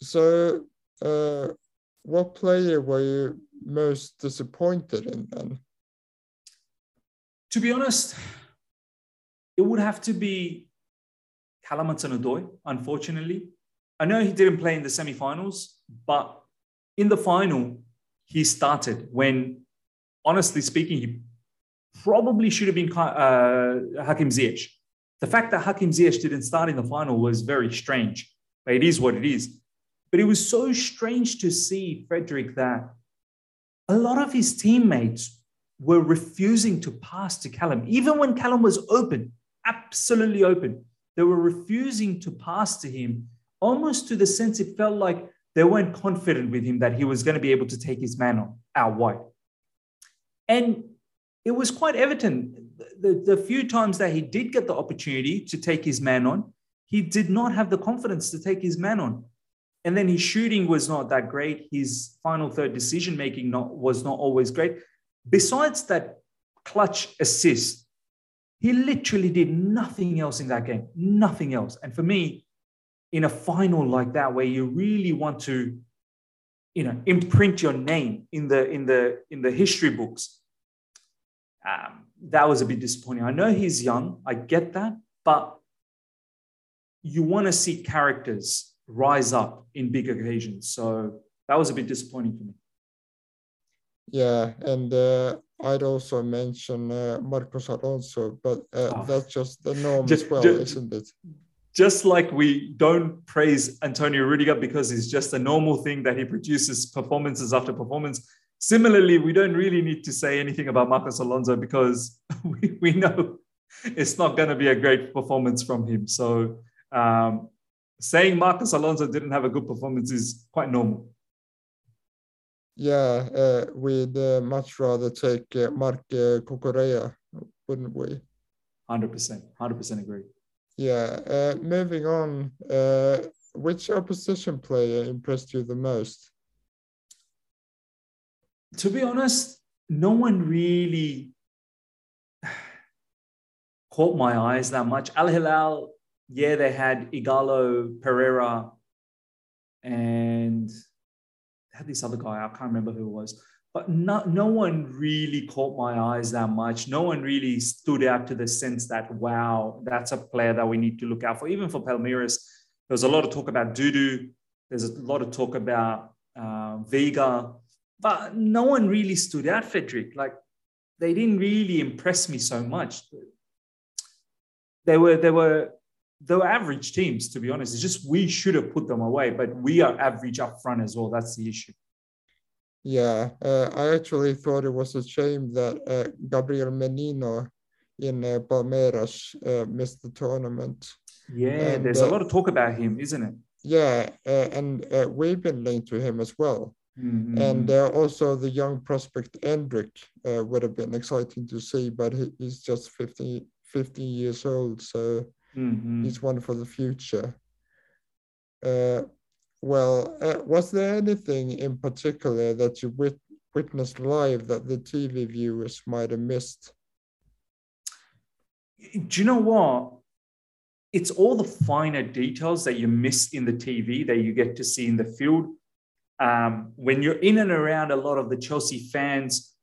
What player were you most disappointed in then? To be honest, it would have to be Callum Hudson-Odoi, unfortunately. I know he didn't play in the semi-finals, but in the final, he started when, honestly speaking, he probably should have been Hakim Ziyech. The fact that Hakim Ziyech didn't start in the final was very strange, but it is what it is. But it was so strange to see, Frederick, that a lot of his teammates were refusing to pass to Callum. Even when Callum was open, absolutely open, they were refusing to pass to him, almost to the sense it felt like they weren't confident with him that he was going to be able to take his man on out wide. And it was quite evident the few times that he did get the opportunity to take his man on, he did not have the confidence to take his man on. And then his shooting was not that great. His final third decision-making was not always great. Besides that clutch assist, he literally did nothing else in that game, nothing else. And for me, in a final like that, where you really want to imprint your name in the history books. That was a bit disappointing. I know he's young, I get that, but you want to see characters rise up in big occasions. So that was a bit disappointing for me. Yeah, and I'd also mention Marcos Alonso, but that's just the norm as well, isn't it? Just like we don't praise Antonio Rudiger because it's just a normal thing that he produces performances after performance. Similarly, we don't really need to say anything about Marcos Alonso because we know it's not going to be a great performance from him. So saying Marcos Alonso didn't have a good performance is quite normal. Yeah, we'd much rather take Marc Cucurella, wouldn't we? 100% agree. Yeah, moving on, which opposition player impressed you the most? To be honest, no one really caught my eyes that much. Al Hilal, yeah, they had Igalo Pereira and they had this other guy, I can't remember who it was. But no one really caught my eyes that much. No one really stood out to the sense that, wow, that's a player that we need to look out for. Even for Palmeiras, there was a lot of talk about Dudu. There's a lot of talk about Vega. But no one really stood out, Frederick. Like, they didn't really impress me so much. They were average teams, to be honest. It's just we should have put them away, but we are average up front as well. That's the issue. Yeah, I actually thought it was a shame that Gabriel Menino in Palmeiras missed the tournament. Yeah, and there's a lot of talk about him, isn't it? Yeah, and we've been linked to him as well. Mm-hmm. And also the young prospect Endrick would have been exciting to see, but he's just 15 years old, so he's one for the future. Well, was there anything in particular that you witnessed live that the TV viewers might have missed? Do you know what? It's all the finer details that you miss in the TV that you get to see in the field. When you're in and around a lot of the Chelsea fans,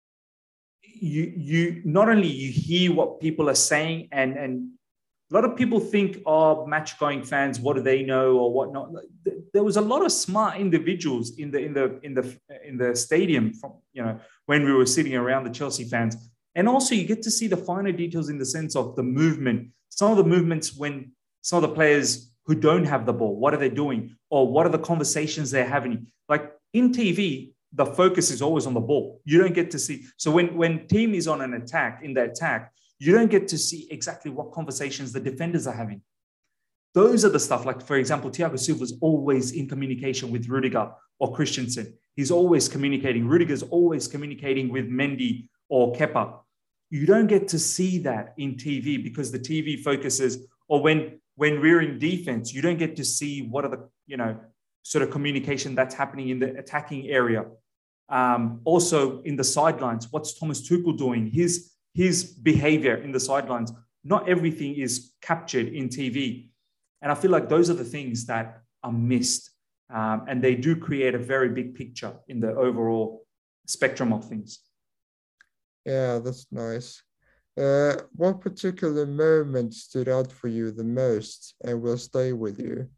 you not only you hear what people are saying, and a lot of people think, oh, match-going fans, what do they know or whatnot? There was a lot of smart individuals in the stadium from, when we were sitting around the Chelsea fans. And also you get to see the finer details in the sense of the movement. Some of the movements when some of the players who don't have the ball, what are they doing? Or what are the conversations they're having? Like in TV, the focus is always on the ball. You don't get to see. So when team is on an attack, in the attack, you don't get to see exactly what conversations the defenders are having. Those are the stuff, like, for example, Thiago Silva is always in communication with Rudiger or Christensen. He's always communicating. Rudiger's always communicating with Mendy or Kepa. You don't get to see that in TV because the TV focuses, or when we're in defense, you don't get to see what are the, sort of communication that's happening in the attacking area. Also in the sidelines, what's Thomas Tuchel doing? His behavior in the sidelines. Not everything is captured in TV. And I feel like those are the things that are missed. And they do create a very big picture in the overall spectrum of things. Yeah, that's nice. What particular moment stood out for you the most and will stay with you?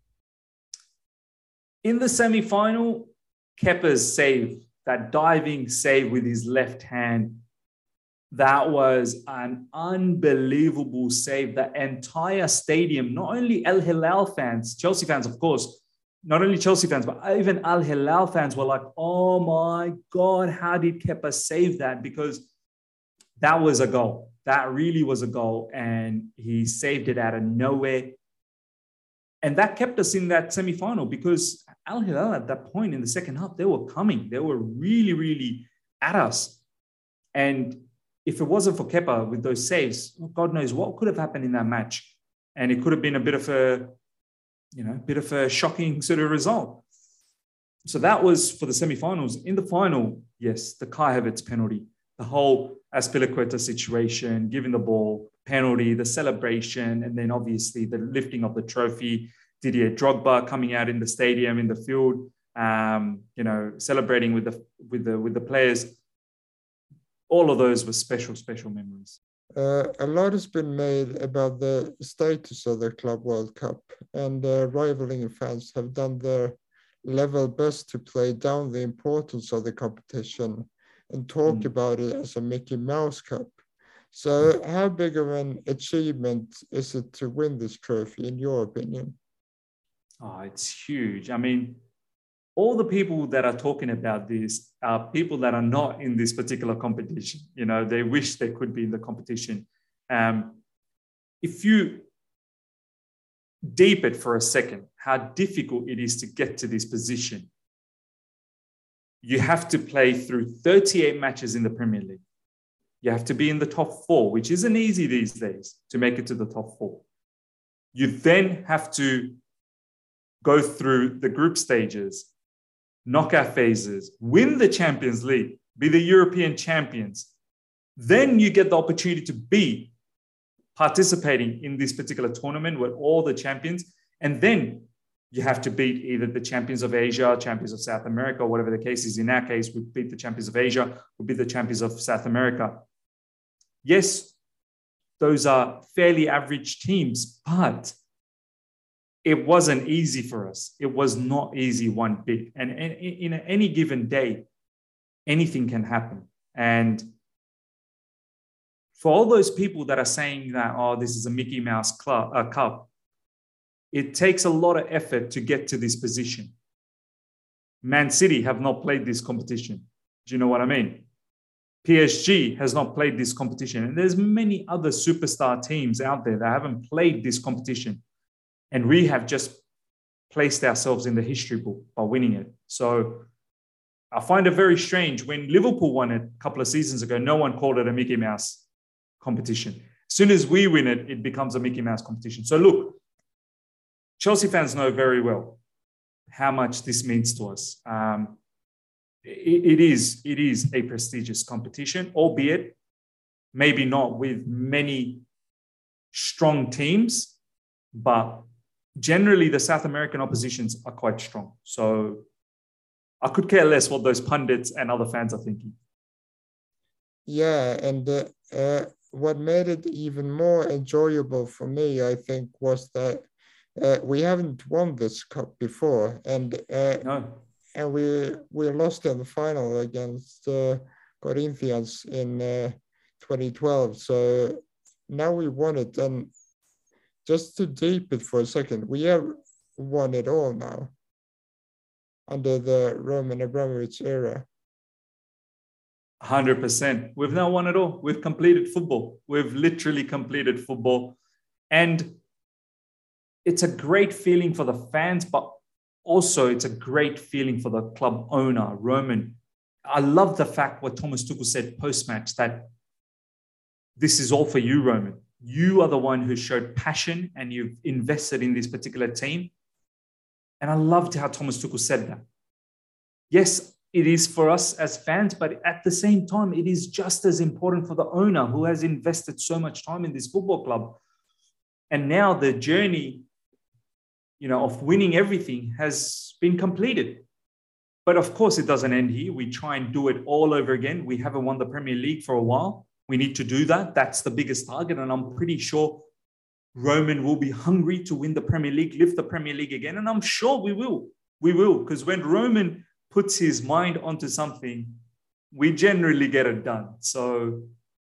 In the semi-final, Kepa's save, that diving save with his left hand, that was an unbelievable save. The entire stadium, not only Al Hilal fans, Chelsea fans, of course, not only Chelsea fans, but even Al Hilal fans were like, oh my God, how did Kepa save that? Because that was a goal. That really was a goal. And he saved it out of nowhere. And that kept us in that semi-final because Al Hilal at that point in the second half, they were coming. They were really, really at us. And if it wasn't for Kepa with those saves, God knows what could have happened in that match. And it could have been a bit of a shocking sort of result. So that was for the semi-finals. In the final, yes, the Kai Havertz penalty, the whole Azpilicueta situation, giving the ball, penalty, the celebration, and then obviously the lifting of the trophy, Didier Drogba coming out in the stadium, in the field, celebrating with the players. All of those were special memories. A lot has been made about the status of the Club World Cup, and rivaling fans have done their level best to play down the importance of the competition and talk about it as a Mickey Mouse Cup. So how big of an achievement is it to win this trophy, in your opinion? Oh, it's huge. I mean, all the people that are talking about this are people that are not in this particular competition. They wish they could be in the competition. If you deep it for a second, how difficult it is to get to this position. You have to play through 38 matches in the Premier League. You have to be in the top 4, which isn't easy these days to make it to the top 4. You then have to go through the group stages, knockout phases, win the Champions League, be the European champions. Then you get the opportunity to be participating in this particular tournament with all the champions. And then you have to beat either the champions of Asia, champions of South America, whatever the case is. In our case, we beat the champions of Asia, we beat the champions of South America. Yes, those are fairly average teams, but it wasn't easy for us. It was not easy one bit. And in any given day, anything can happen. And for all those people that are saying that, oh, this is a Mickey Mouse Cup, it takes a lot of effort to get to this position. Man City have not played this competition. Do you know what I mean? PSG has not played this competition. And there's many other superstar teams out there that haven't played this competition. And we have just placed ourselves in the history book by winning it. So I find it very strange. When Liverpool won it a couple of seasons ago, no one called it a Mickey Mouse competition. As soon as we win it, it becomes a Mickey Mouse competition. So look, Chelsea fans know very well how much this means to us. It is a prestigious competition, albeit maybe not with many strong teams, but generally the South American oppositions are quite strong. So I could care less what those pundits and other fans are thinking. Yeah, and what made it even more enjoyable for me, I think, was that we haven't won this cup before, and we lost in the final against Corinthians in 2012. So now we won it, and just to deep it for a second, we have won it all now under the Roman Abramovich era. 100%. We've now won it all. We've completed football. We've literally completed football. And it's a great feeling for the fans, but also it's a great feeling for the club owner, Roman. I love the fact what Thomas Tuchel said post-match, that this is all for you, Roman. You are the one who showed passion and you've invested in this particular team. And I loved how Thomas Tuchel said that. Yes, it is for us as fans, but at the same time, it is just as important for the owner who has invested so much time in this football club. And now the journey, of winning everything has been completed. But of course, it doesn't end here. We try and do it all over again. We haven't won the Premier League for a while. We need to do that. That's the biggest target. And I'm pretty sure Roman will be hungry to win the Premier League, lift the Premier League again. And I'm sure we will. We will. Because when Roman puts his mind onto something, we generally get it done. So,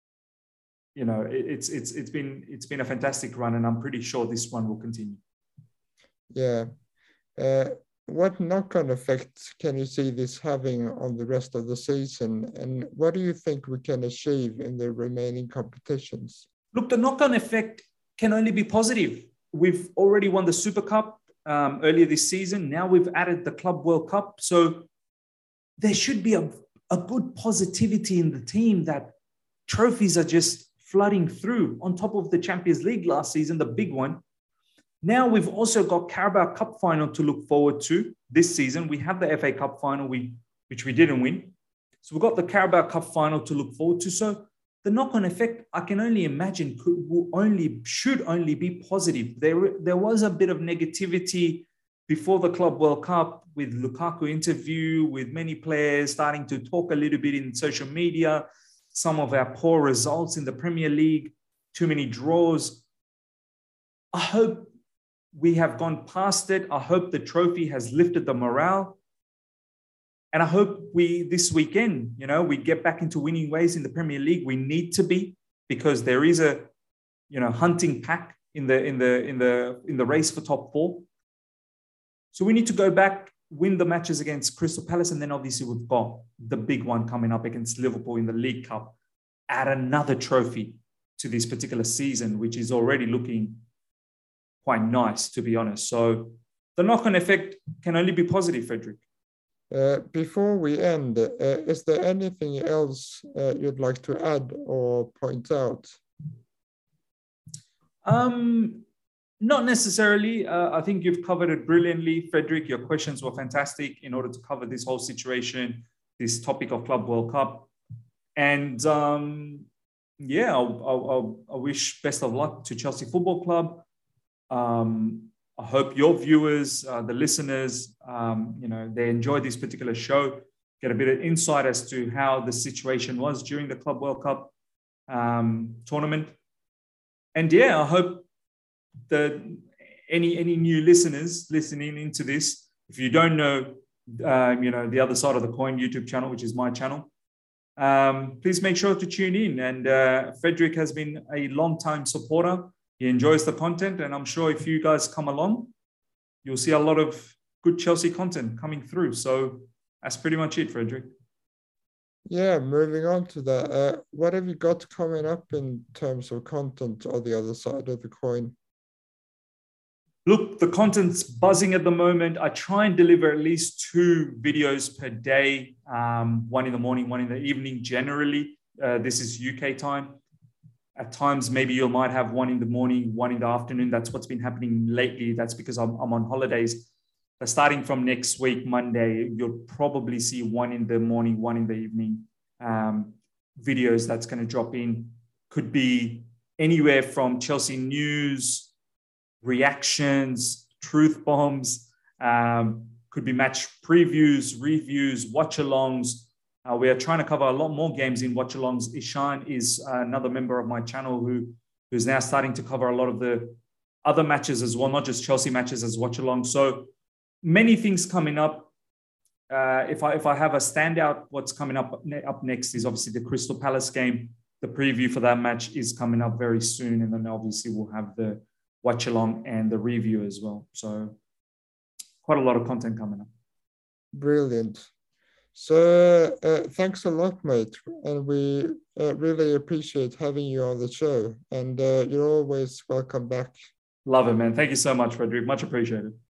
it's been a fantastic run, and I'm pretty sure this one will continue. Yeah. What knock-on effect can you see this having on the rest of the season? And what do you think we can achieve in the remaining competitions? Look, the knock-on effect can only be positive. We've already won the Super Cup earlier this season. Now we've added the Club World Cup. So there should be a good positivity in the team that trophies are just flooding through. On top of the Champions League last season, the big one. Now we've also got Carabao Cup final to look forward to this season. We have the FA Cup final, which we didn't win. So we've got the Carabao Cup final to look forward to. So the knock-on effect, I can only imagine, should only be positive. There was a bit of negativity before the Club World Cup, with Lukaku interview, with many players starting to talk a little bit in social media, some of our poor results in the Premier League, too many draws. I hope we have gone past it. I hope the trophy has lifted the morale. And I hope this weekend, we get back into winning ways in the Premier League. We need to be, because there is a, hunting pack in the race for top 4. So we need to go back, win the matches against Crystal Palace, and then obviously we've got the big one coming up against Liverpool in the League Cup. Add another trophy to this particular season, which is already looking quite nice, to be honest. So the knock-on effect can only be positive, Frederick. Before we end, is there anything else you'd like to add or point out? Not necessarily. I think you've covered it brilliantly, Frederick. Your questions were fantastic in order to cover this whole situation, this topic of Club World Cup. And yeah, I wish best of luck to Chelsea Football Club. I hope your viewers, the listeners, they enjoy this particular show, get a bit of insight as to how the situation was during the Club World Cup tournament. And yeah, I hope that any new listeners listening into this, if you don't know, the other side of the coin YouTube channel, which is my channel, please make sure to tune in. And Frederick has been a long-time supporter. He enjoys the content, and I'm sure if you guys come along, you'll see a lot of good Chelsea content coming through. So that's pretty much it, Frederick. Yeah, moving on to that, what have you got coming up in terms of content on the other side of the coin? Look, the content's buzzing at the moment. I try and deliver at least 2 videos per day, one in the morning, one in the evening, generally. This is UK time. At times, maybe you might have one in the morning, one in the afternoon. That's what's been happening lately. That's because I'm on holidays. But starting from next week, Monday, you'll probably see one in the morning, one in the evening videos that's going to drop in. Could be anywhere from Chelsea news, reactions, truth bombs, could be match previews, reviews, watch-alongs. We are trying to cover a lot more games in watch-alongs. Ishan is another member of my channel who's now starting to cover a lot of the other matches as well, not just Chelsea matches as watch-alongs. So many things coming up. If I have a standout, what's coming up next is obviously the Crystal Palace game. The preview for that match is coming up very soon. And then obviously we'll have the watch-along and the review as well. So quite a lot of content coming up. Brilliant. So thanks a lot, mate. And we really appreciate having you on the show. And you're always welcome back. Love it, man. Thank you so much, Frederick. Much appreciated.